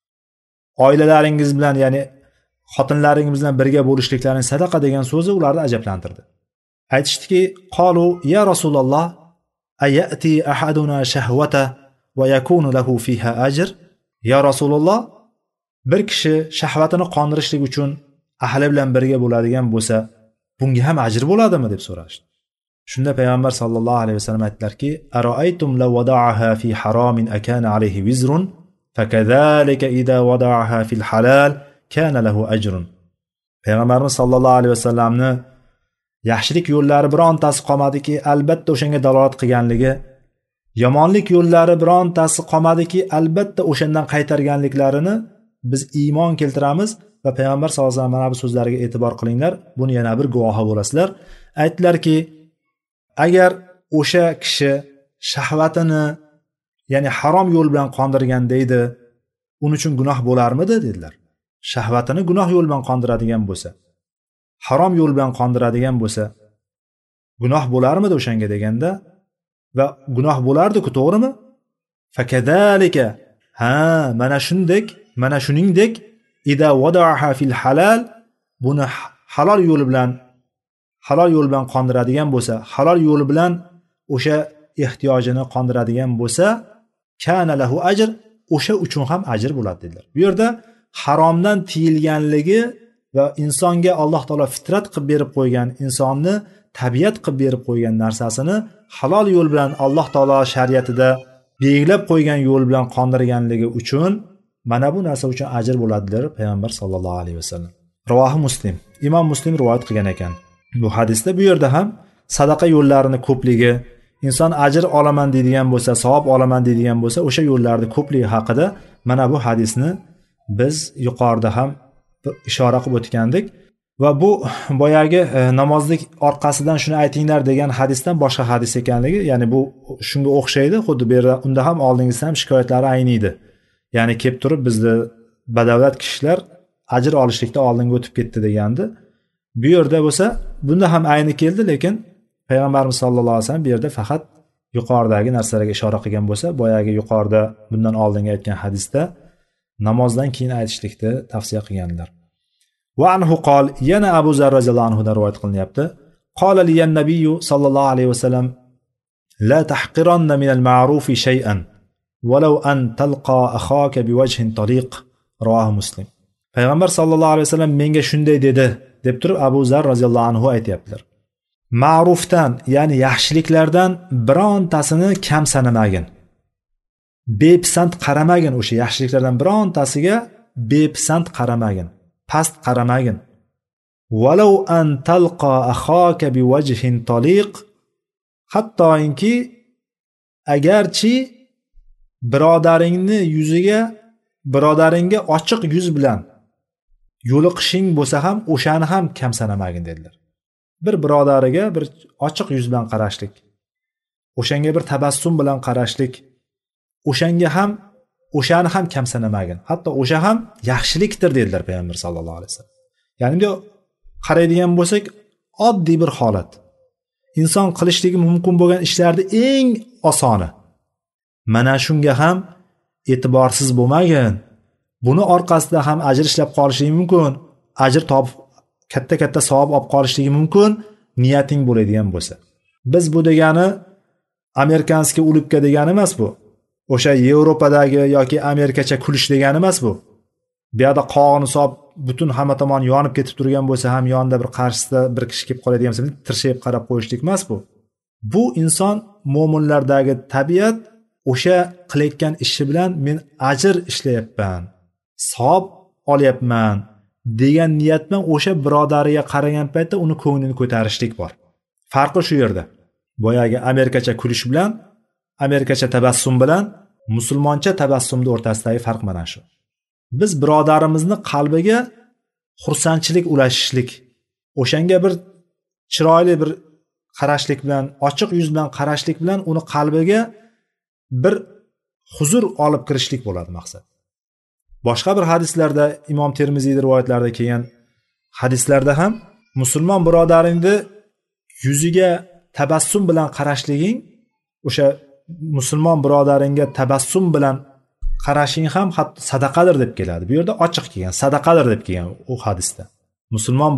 Oilalaringiz bilan, ya'ni xotinlaringiz bilan birga bo'lishliklaring sadaqa degan so'zi ularni ajablantirdi. Aytishdiki, qalu ya Rasululloh ayati ahaduna shahwata va yakunu lahu fiha ajr. Ya Rasululloh, bir kishi shahvatini qondirishlik uchun ahli bilan birga bo'ladigan bo'lsa, bunga ham ajr bo'ladimi deb so'rashdi. Shunda payg'ambar sallallohu alayhi vasallam aytdilarki, aroaytum law wada'aha fi haramin akana alayhi wizrun fakazalika idza wada'aha fil halal kana lahu ajrun. Payg'ambarimiz sallallohu alayhi vasallamni yaxshilik yo'llari birontasi qolmadiki, albatta o'shanga dalolat qilganligi, yomonlik yo'llari birontasi qolmadiki, albatta o'shandan qaytarganliklarini biz iymon keltiramiz va payg'ambar sallallohu alayhi vasallam mana bu so'zlariga e'tibor qilinglar, buni yana bir guvohi bo'lasizlar. Aytdilarki, agar o'sha kishi shahvatini, ya'ni harom yo'l bilan qondirganda edi, uning uchun gunoh bo'larmidi dedilar. Shahvatini gunoh yo'l bilan qondiradigan bo'lsa, harom yo'l bilan qondiradigan bo'lsa, gunoh bo'larmidi o'shanga deganda, va gunoh bo'lardi-ku, to'g'rimi? Fakadalika, mana shuningdek ida wada'aha fil halal, buni halol yo'l bilan qondiradigan bo'lsa, halol yo'li bilan o'sha ehtiyojini qondiradigan bo'lsa, kana lahu ajr, o'sha uchun ham ajr bo'ladi dedilar. Bu yerda haromdan tiyilganligi va insonga Alloh taolo fitrat qilib berib qo'ygan, insonni tabiat qilib berib qo'ygan narsasini halol yo'l bilan Alloh taolo shariatida belgilab qo'ygan yo'l bilan qondirganligi uchun mana bu narsa uchun ajr bo'ladi dedilar payg'ambar sollallohu alayhi vasallam. Rivohi Muslim, Imom Muslim rivoyat qilgan ekan. Bu hadisda bu yerda ham sadaqa yo'llarini ko'pligi, inson ajr olaman deydigan bo'lsa, savob olaman deydigan bo'lsa, o'sha yo'llarning ko'pligi haqida mana bu hadisni biz yuqorida ham ishora qilib o'tgandik va bu boyagi namozlik orqasidan shuni aytinglar degan hadisdan boshqa hadis ekanligi, ya'ni bu shunga o'xshaydi, xuddi bu yerda unda ham oldingizda ham shikoyatlari ayniydi. Ya'ni kelib turib bizni badavlat kishilar ajr olishlikda oldinga o'tib ketdi degandi. Bu yerda bo'lsa, bunda ham ayni keldi, lekin payg'ambarimiz sollallohu alayhi vasallam bu yerda faqat yuqoridagi narsalarga ishora qilgan bo'lsa, boyagi yuqorida bundan oldingi aytgan hadisda namozdan keyin aytishlikni tavsiya qilganlar. Va anhu qol, yana Abu Zar roziyallohu anhu dan rivoyat qilinyapti. Qala liyan nabiyyu sallallohu alayhi vasallam la tahqiranna min al-ma'rufi shay'an walau an talqa akhaka biwajhin tariq. Rivohi Muslim. Payg'ambar sallallohu alayhi vasallam menga shunday dedi deb turib Abu Zar roziyallohu anhu aytayaptilar. Ma'rufdan, ya'ni yaxshiliklardan birontasini kam sanamagin. Bepisand qaramagin, o'sha yaxshiliklardan birontasiga bepisand qaramagin, past qaramagin. Walau an talqa akhaka biwajhin taliq, hattoki agarchi birodaringga ochiq yuz bilan yo'liqishing bo'lsa ham o'shani ham kam sanamagin dedilar. Bir birodariga bir ochiq yuz bilan qarashlik, o'shanga bir tabassum bilan qarashlik, o'shanga ham o'shani ham kamsanamagin. Hatto o'sha ham yaxshilikdir dedilar payg'ambar sallallohu alayhi vasallam. Ya'ni bunday qaraydigan bo'lsak, oddiy bir holat. Inson qilishligi mumkin bo'lgan ishlarni eng osoni. Mana shunga ham e'tiborsiz bo'lmagin. Buni orqasida ham ajr ishlab qolishligi mumkin. Ajr topib katta savob olib qolishligi mumkin, niyating bo'ladigan bo'lsa. Biz bu degani amerikanskiy ulubka degani emas bu. O'sha Yevropadagi yoki Amerikacha kulish degani emas bu. Bu yerda qog'ini solib butun hamma tomon yonib ketib turgan bo'lsa ham yonida bir qarshisida bir kishi kelib qoladigan bo'lsa, tirshayib qarab qo'yishlik emas bu. Bu inson mo'minlardagi tabiat, o'sha qilayotgan ishi bilan men ajr ishlayapman, savob olyapman degan niyat bilan o'sha birodariga qaragan paytda uni ko'nglini ko'tarishlik bor. Farqi shu yerda. Boyagi amerikacha kulish bilan, amerikacha tabassum bilan musulmoncha tabassumning o'rtasidagi farq mana shu. Biz birodarimizni qalbiga xursandchilik ulashishlik, o'shanga bir chiroyli bir qarashlik bilan, ochiq yuz bilan qarashlik bilan uni qalbiga bir huzur olib kirishlik bo'ladi maqsad. Boshqa bir hadislarda, Imom Termiziy rivoyatlarida kelgan hadislarda ham musulmon birodaringni yuziga tabassum bilan qarashliging, o'sha musulmon birodaringga tabassum bilan qarashing ham hatto sadaqadir deb keladi. Bu yerda ochiq kelgan, sadaqadir deb kelgan u hadisda. Musulmon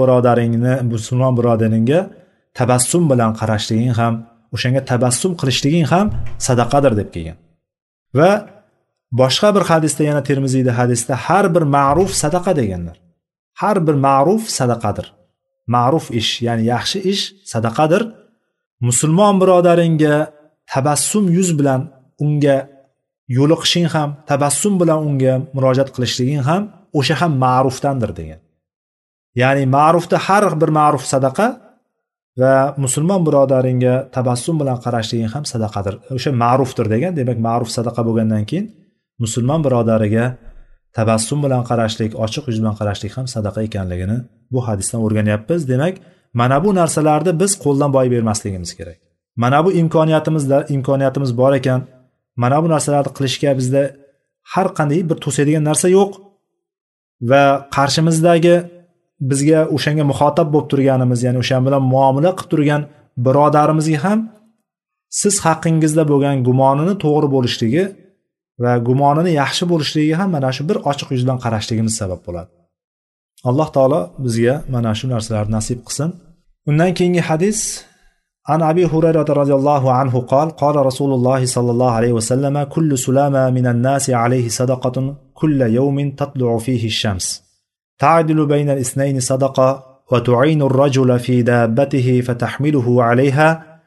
birodaringga tabassum bilan qarashliging ham, o'shanga tabassum qilishliging ham sadaqadir deb kelgan. Va boshqa bir hadisda, yana Termiziyda hadisda har bir ma'ruf sadaqa deganlar. Har bir ma'ruf sadaqadir. Ma'ruf ish, ya'ni yaxshi ish sadaqadir. Musulmon birodaringga tabassum yuz bilan unga yo'liqishing ham, tabassum bilan unga murojaat qilishliging ham o'sha ham ma'rufdandir degan. Ya'ni ma'rufda har bir ma'ruf sadaqa va musulmon birodaringga tabassum bilan qarashliging ham sadaqadir. O'sha ma'rufdir degan. Demak, ma'ruf sadaqa bo'lgandan keyin musulmon birodariga tabassum bilan qarashlik, ochiq yuz bilan qarashlik ham sadaqa ekanligini bu hadisdan o'rganyapmiz. Demak, mana bu narsalarni biz qo'ldan boy bermasligimiz kerak. Mana bu imkoniyatimiz bor ekan, mana bu narsalarni qilishga bizda har qanday bir to'sadigan narsa yo'q va qarshimizdagi bizga o'shanga muxotab bo'lib turganimiz, ya'ni o'sha bilan muomala qilib turgan birodarimizga ham siz haqingizda bo'lgan gumonini to'g'ri bo'lishligi va gumonini yaxshi bo'lishligiga ham mana shu bir ochiq yuz bilan qarashligimiz sabab bo'ladi. Alloh taolo bizga mana shu narsalarni nasib qilsin. Undan keyingi hadis An Abi Hurayra radhiyallohu anhu qala qala Rasululloh sallallohu alayhi va sallam kullu sulama minan nasi alayhi sadaqatun kulla yawmin tatlu'u fihi ash-shams ta'dilu bayna al-ithnayn sadaqa wa tu'inu ar-rajula fi dabbatihi fatahmiluhu 'alayha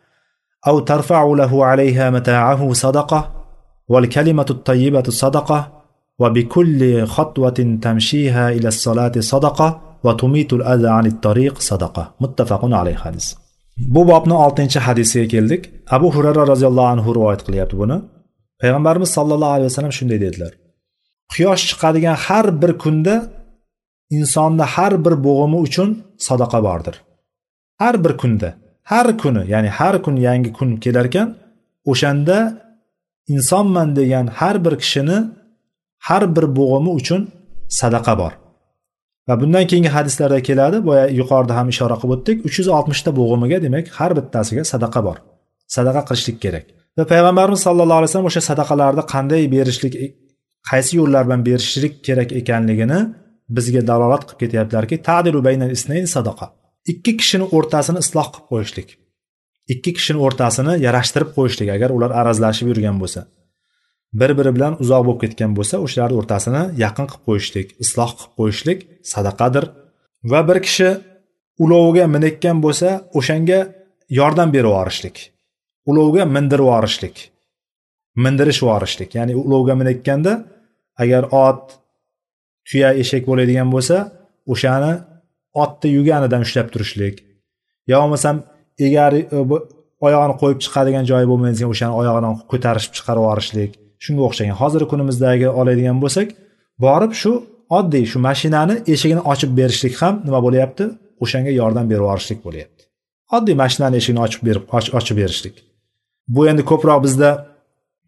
aw tarfa'u lahu 'alayha mata'ahu sadaqa wal kalimatu at-tayyibatu sadaqa wa bi kulli khatwatin tamshiha ila as-salati sadaqa wa tumitu al-adha 'ani at-tariq sadaqa. Muttafaqun alayhi hadis. Bu bobning 6-hadisiga keldik. Abu Hurayra radhiyallohu anhu rivoyat qilyapti buni. Payg'ambarimiz sallallohu alayhi vasallam shunday dedilar: Quyosh chiqadigan har bir kunda insonda har bir bo'g'imi uchun sadaqa bordir. Har bir kunda, har kuni, ya'ni har kun yangi kun kelar ekan, o'shanda insonman degan har bir kishini har bir bo'g'imi uchun sadaqa bor. Va bundan keyingi hadislarda keladi, boya yuqorida ham ishora qilib o'tdik, 360 ta bo'g'imiga, demak, har bittasiga sadaqa bor. Sadaqa qilishlik kerak. Va payg'ambarimiz sallallohu alayhi vasallam o'sha sadaqalarni qanday berishlik, qaysi yo'llar bilan berishlik kerak ekanligini bizga dalolat qilib ketyaptilarki, ta'dilu baynal isnayn sadaqa. Ikki kishining o'rtasini isloh qilib qo'yishlik. Ikki kishining o'rtasini yarashtirib qo'yishlik, agar ular arazlashib yurgan bo'lsa, bir-biri bilan uzoq bo'lib ketgan bo'lsa, o'shalarning o'rtasini yaqin qilib qo'yishlik, isloh qilib qo'yishlik sadaqadir. Va bir kishi uloviga minayotgan bo'lsa, o'shanga yordam berib yuborishlik. Ulovga mindirib yuborishlik. Mindirish yuborishlik. Ya'ni ulovga minayotganda agar ot, tuya, eshak bo'ladigan bo'lsa, o'shani otni yuganidan ushlab turishlik. Yo bo'lmasam egari oyog'ini qo'yib chiqadigan joyi bo'lmaydigan o'shani oyog'idan ko'tarib chiqarib yuborishlik. Shunga o'xshagan. Hozirgi kunimizdagi oladigan bo'lsak, borib shu oddiy shu mashinani eshigini ochib berishlik ham nima bo'layapti? O'shanga yordam berib yuborishlik bo'layapti. Oddiy mashinani eshigini ochib berishlik. Bu endi ko'proq bizda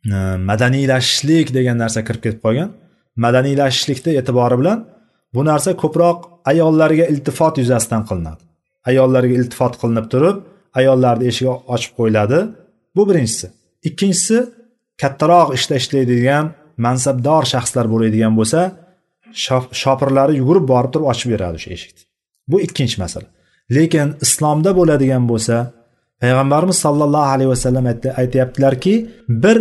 madaniylashishlik degan narsa kirib ketib qolgan. Madaniylashishlikda e'tibori bilan bu narsa ko'proq ayollarga iltifot yuzasidan qilinadi. Ayollarga iltifot qilinib turib, ayollarning eshigi ochib qo'yiladi. Bu birinchisi. Ikkinchisi, kattaroq ishda ishlaydigan mansabdor shaxslar bo'ladigan bo'lsa, shopirlari yugurib borib turib ochib beradi o'sha eshikni. Bu ikkinchi masala. Lekin islomda bo'ladigan bo'lsa, payg'ambarimiz sollallohu alayhi vasallam aytayaptilarki, bir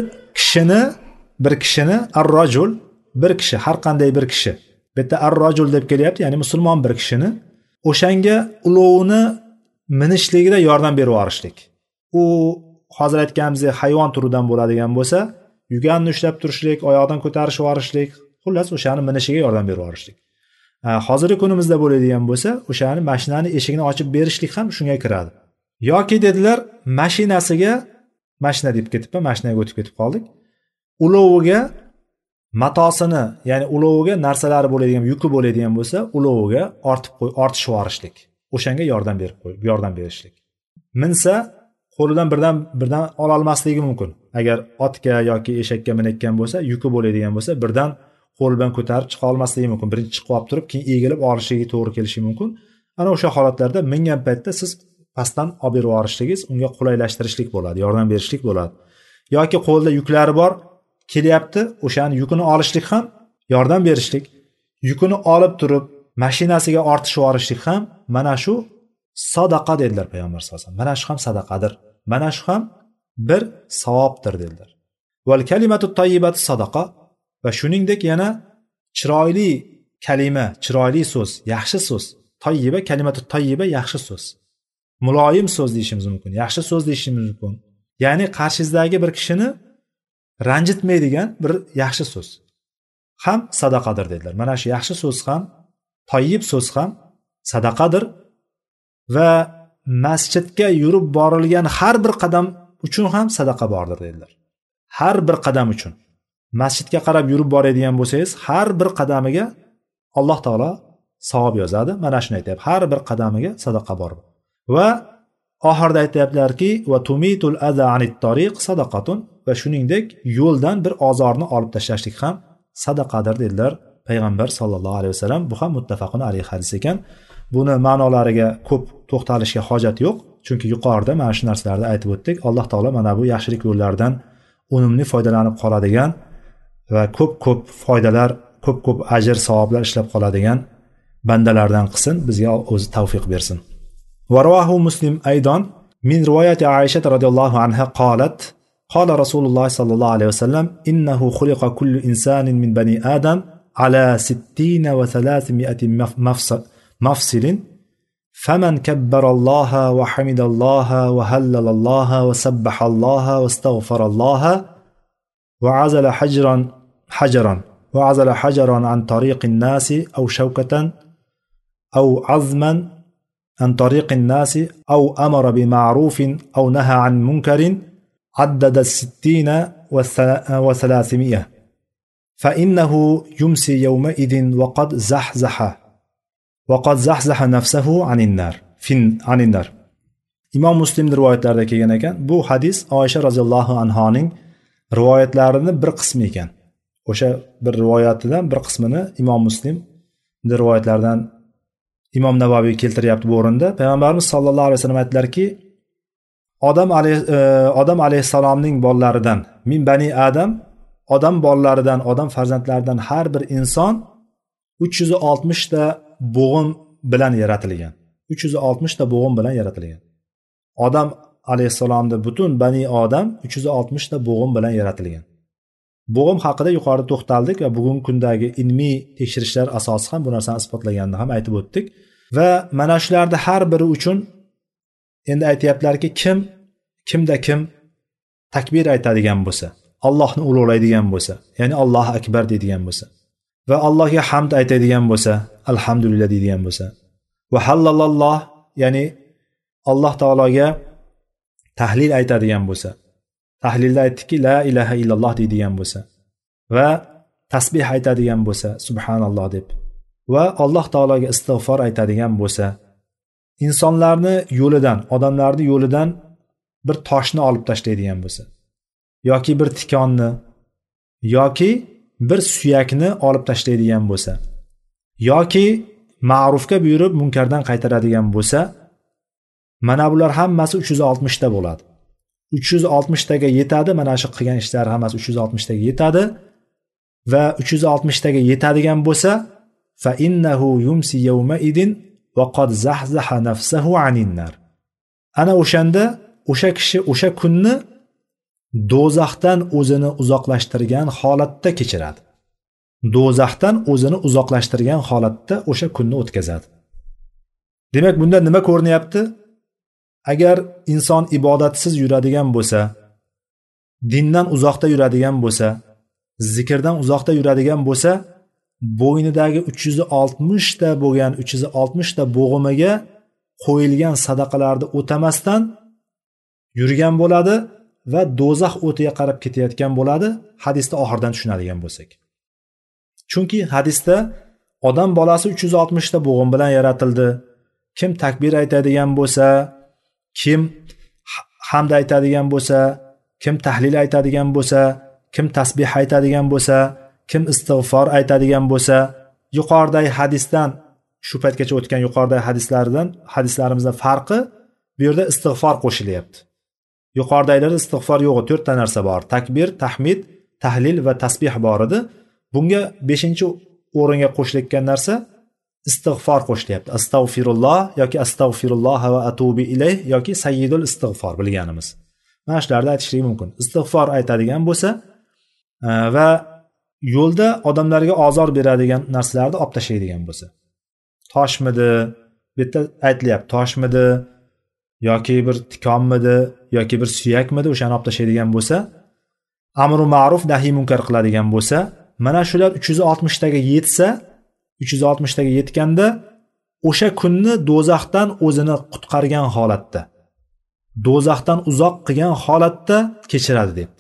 kishini ar-rajul, bir kishi, har qanday bir kishi. Bu yerda ar-rajul deb kelyapti, ya'ni musulmon bir kishini o'shanga ulovni minishligida yordam berib yuborishlik. U hozir aytganimizdek hayvon turidan bo'ladigan bo'lsa, yuganni ushlab turishlik, oyoqdan ko'tarishib yuborishlik, xullas o'shani minishiga yordam berib yuborishlik. Hozirgi kunimizda bo'ladigan bo'lsa, o'shani mashinani eshigini ochib berishlik ham shunga kiradi. Yoki dedilar, mashina deb ketibman, mashinaga o'tib ketib qoldik. Uloviga matosini, ya'ni uloviga narsalari bo'ladigan, yuki bo'ladigan bo'lsa, uloviga ortishib yuborishlik. O'shanga yordam berishlik. Minsa qo'lidan birdan ola olmasligi mumkin. Agar otga yoki eshakka minayotgan bo'lsa, yuki bo'ladigan bo'lsa, birdan qo'l bilan ko'tarib chiqa olmasligi mumkin. Birinchi chiqib olib turib, keyin egilib olishiga to'g'ri kelishi mumkin. Ana o'sha holatlarda mingan paytda siz pastdan olib berib yuborishligingiz unga qulaylashtirishlik bo'ladi, yordam berishlik bo'ladi. Yoki qo'lda yuklari bor, kelyapti, o'shani yukini olishlik ham yordam berishlik. Yukini olib turib, mashinasiga ortishib yuborishlik ham mana shu sadaqa dedilar payg'ambar sollallohu alayhi vasallam. Mana shu ham sadaqadir. Mana shu ham bir savobdir dedilar. Val kalimatu tayyibatu sadaqa. Va shuningdek yana chiroyli kalima, chiroyli so'z, yaxshi so'z. Tayyiba, kalimatu tayyiba yaxshi so'z. Muloyim so'z deyishimiz mumkin, yaxshi so'z deyishimiz mumkin. Ya'ni qarshingizdagi bir kishini ranjitmaydigan bir yaxshi so'z ham sadaqadir dedilar. Mana shu yaxshi so'z ham, tayyib so'z ham sadaqadir va masjidga yurib borilgan har bir qadam uchun ham sadaqa bordir dedilar. Har bir qadam uchun. Masjidga qarab yurib boradigan bo'lsangiz, har bir qadamiga Alloh taolo savob yozadi. Mana shuni aytayapti. Har bir qadamiga sadaqa bor. Va oxirida aytayaptilarki, va tumitul adha anit tariq sadaqatun, va shuningdek yo'ldan bir ozorni olib tashlashlik ham sadaqadir dedilar payg'ambar sollallohu alayhi vasallam. Bu ham muttafaqun alayhi hadis ekan. Buni ma'nolariga ko'p to'xtalishga hojat yo'q, chunki yuqorida mana shu narsalarni aytib o'tdik. Alloh taolo mana bu yaxshilik yo'llaridan unumli foydalanib qoladigan va ko'p foydalar, ko'p ajr, savoblar ishlab qoladigan bandalardan qilsin, bizga o'zi tavfiq bersin. Va rawahu Muslim aydan min rivoyati Aisha radhiyallohu anha qalat qala Rasululloh sallallohu alayhi vasallam innahu khuliqa kullu insanin min bani Adam ala 60 wa 300 mafsilin faman kabbara Allah wa hamida Allah wa hallala Allah wa sabbaha Allah wa astaghfara Allah وعزل حجرا عن طريق الناس أو شوكة أو عظما عن طريق الناس أو أمر بمعروف أو نهى عن منكر عدد 60 و300 فإنه يمسي يومئذ وقد زحزح نفسه عن النار. İmam Muslim rivoyatlarida kelgan ekan. Bu hadis Oysha roziyallohu anhoning rivoyatlarini bir qismi ekan. O'sha bir rivoyatidan bir qismini Imom Muslim rivoyatlaridan Imom Navoiy keltiryapti bu o'rinda. Payg'ambarimiz sollallohu alayhi vasallam aytdilarki, Odam alayhisalomning bolalaridan, min bani Adam, odam bolalaridan, odam farzandlaridan har bir inson 360 ta bo'g'in bilan yaratilgan. 360 ta bo'g'in bilan yaratilgan. Odam alayhissalomda butun bani odam 360 ta bo'g'im bilan yaratilgan. Bo'g'im haqida yuqorida to'xtaldik va bugungi kundagi ilmiy tekshirishlar asosi ham bu narsani isbotlaganini ham aytib o'tdik. Va mana shularda har biri uchun endi aytayaptilarki, kimda kim takbir aytadigan bo'lsa, Allohni ulug'laydigan bo'lsa, ya'ni Allohu akbar deydigan bo'lsa va Allohga hamd aytadigan bo'lsa, alhamdulillah deydigan bo'lsa va hallalalloh, ya'ni Alloh taologa tahlil aytadigan bo'lsa, tahlilda aytdikki la ilaha illalloh deydigan bo'lsa va tasbih aytadigan bo'lsa, subhanalloh deb, va Alloh taologa istig'for aytadigan bo'lsa, insonlarni yo'lidan, odamlarni yo'lidan bir toshni olib tashlaydigan bo'lsa, yoki bir tikonni yoki bir suyakni olib tashlaydigan bo'lsa yoki ma'rufga buyurib munkardan qaytaradigan bo'lsa, mana bular hammasi 360 ta bo'ladi. 360 taga yetadi, mana shu qilgan ishlar hammasi 360 taga yetadi va 360 taga yetadigan bo'lsa, fa innahu yumsi yawma idin va qad zahzaha nafsahu anin nar. Ana o'shanda o'sha kishi o'sha kunni do'zaxdan o'zini uzoqlashtirgan holatda kechiradi. Do'zaxdan o'zini uzoqlashtirgan holatda o'sha kunni o'tkazadi. Demak, bunda nima ko'rinyapti? Agar inson ibodatsiz yuradigan bo'lsa, dindan uzoqda yuradigan bo'lsa, zikrdan uzoqda yuradigan bo'lsa, bo'ynidagi 360 ta bo'lgan 360 ta bo'g'imiga qo'yilgan sadaqalarni o'tamasdan yurgan bo'ladi va do'zax o'tiga qarab ketayotgan bo'ladi, hadisda oxirdan tushunadigan bo'lsak. Chunki hadisda odam bolasi 360 ta bo'g'im bilan yaratildi. Kim takbir aytadigan bo'lsa, kim hamd aytadigan bo'lsa, kim tahlil aytadigan bo'lsa, kim tasbih aytadigan bo'lsa, kim istig'for aytadigan bo'lsa, yuqoridagi hadisdan shu paytgacha o'tgan yuqoridagi hadislarimizdan farqi bu yerda istig'for qo'shilyapti. Yuqoridagilarda istig'for yo'q, 4 ta narsa bor. Takbir, tahmid, tahlil va tasbih bor edi. Bunga 5-o'ringa qo'shilayotgan narsa istig'for qo'shilyapti. Astagfirulloh yoki astagfirulloh va atubu ilayh yoki sayyidul istig'for bilganimiz. Mana shularni aytishligi mumkin. Istig'for aytadigan bo'lsa va yo'lda odamlarga ozor beradigan narsalarni olib tashlaydigan bo'lsa. Toshmidi, bu yerda aytilyapti, toshmidi yoki bir tikonmidi yoki bir suyakmidi, o'shani olib tashlaydigan bo'lsa, amru ma'ruf nahiy munkar qiladigan bo'lsa, mana shular 360 taga yetsa, 360 taga yetganda o'sha kunni do'zaxdan o'zini qutqargan holatda, do'zaxdan uzoq qilgan holatda kechiradi debdi.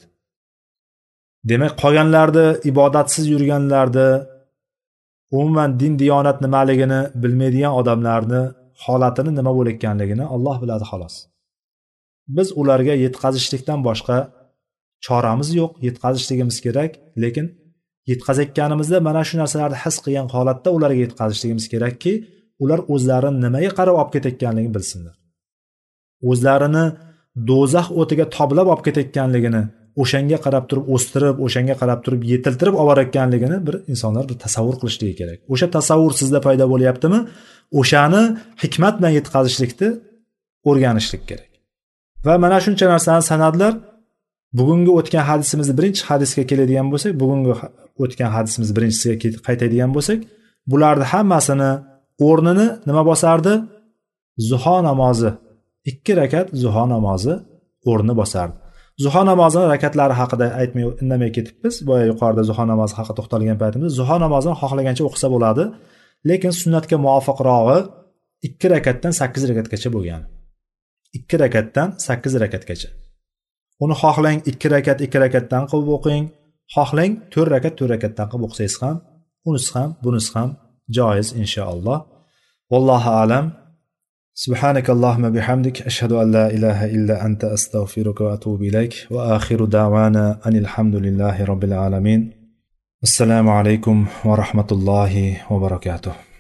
Demak, qolganlarni ibodatsiz yurganlarni, umuman din diyonat nimaligini bilmaydigan odamlarni holatini nima bo'layotganligini Alloh biladi xolos. Biz ularga yetkazishlikdan boshqa choramiz yo'q, yetkazishligimiz kerak, lekin yetkazayotganimizda mana shu narsalarni his qilgan holatda ularga yetkazishligimiz kerakki, ular o'zlarini nimaga qarab olib ketayotganligini bilsinlar. O'zlarini do'zax o'tiga toblab olib ketayotganligini, o'shanga qarab turib o'stirib, o'shanga qarab turib yetiltirib olib borayotganligini bir insonlar bir tasavvur qilishligi kerak. O'sha tasavvur sizda paydo bo'lyaptimi? O'shani hikmat bilan yetkazishlikni o'rganishlik kerak. Va mana shuncha narsani sanadlar. Bugungi o'tgan hadisimizni birinchi hadisga keladigan bo'lsak, bugungi o'tgan hadisimiz birinchisiga qaytadigan bo'lsak, bularning hammasini o'rnini nima bosardi? Zuho namozi. 2 rakat zuho namozi o'rni bosardi. Zuho namozining rakatlari haqida aytmay indamay ketibmiz. Boya yuqorida zuho namozi haqida to'xtalgan paytimizda zuho namozini xohlagancha o'qisa bo'ladi, lekin sunnatga muvofiqrog'i 2 rakatdan 8 rakatgacha bo'lgan. 2 rakatdan 8 rakatgacha. Uni xohlang 2 rakat 2 rakatdan qilib o'qing, xohlang 4 rakat 4 rakatdan qilib o'qisangiz ham, unisi ham, bunisi ham joiz inshaalloh. Vallohu a'lam. Subhanakallahumma bihamdik ashhadu an la ilaha illa anta astaghfiruka va atubu ilayk va akhiru da'wana anil hamdulillahi robbil alamin. Assalomu alaykum va rahmatullohi va barakatuh.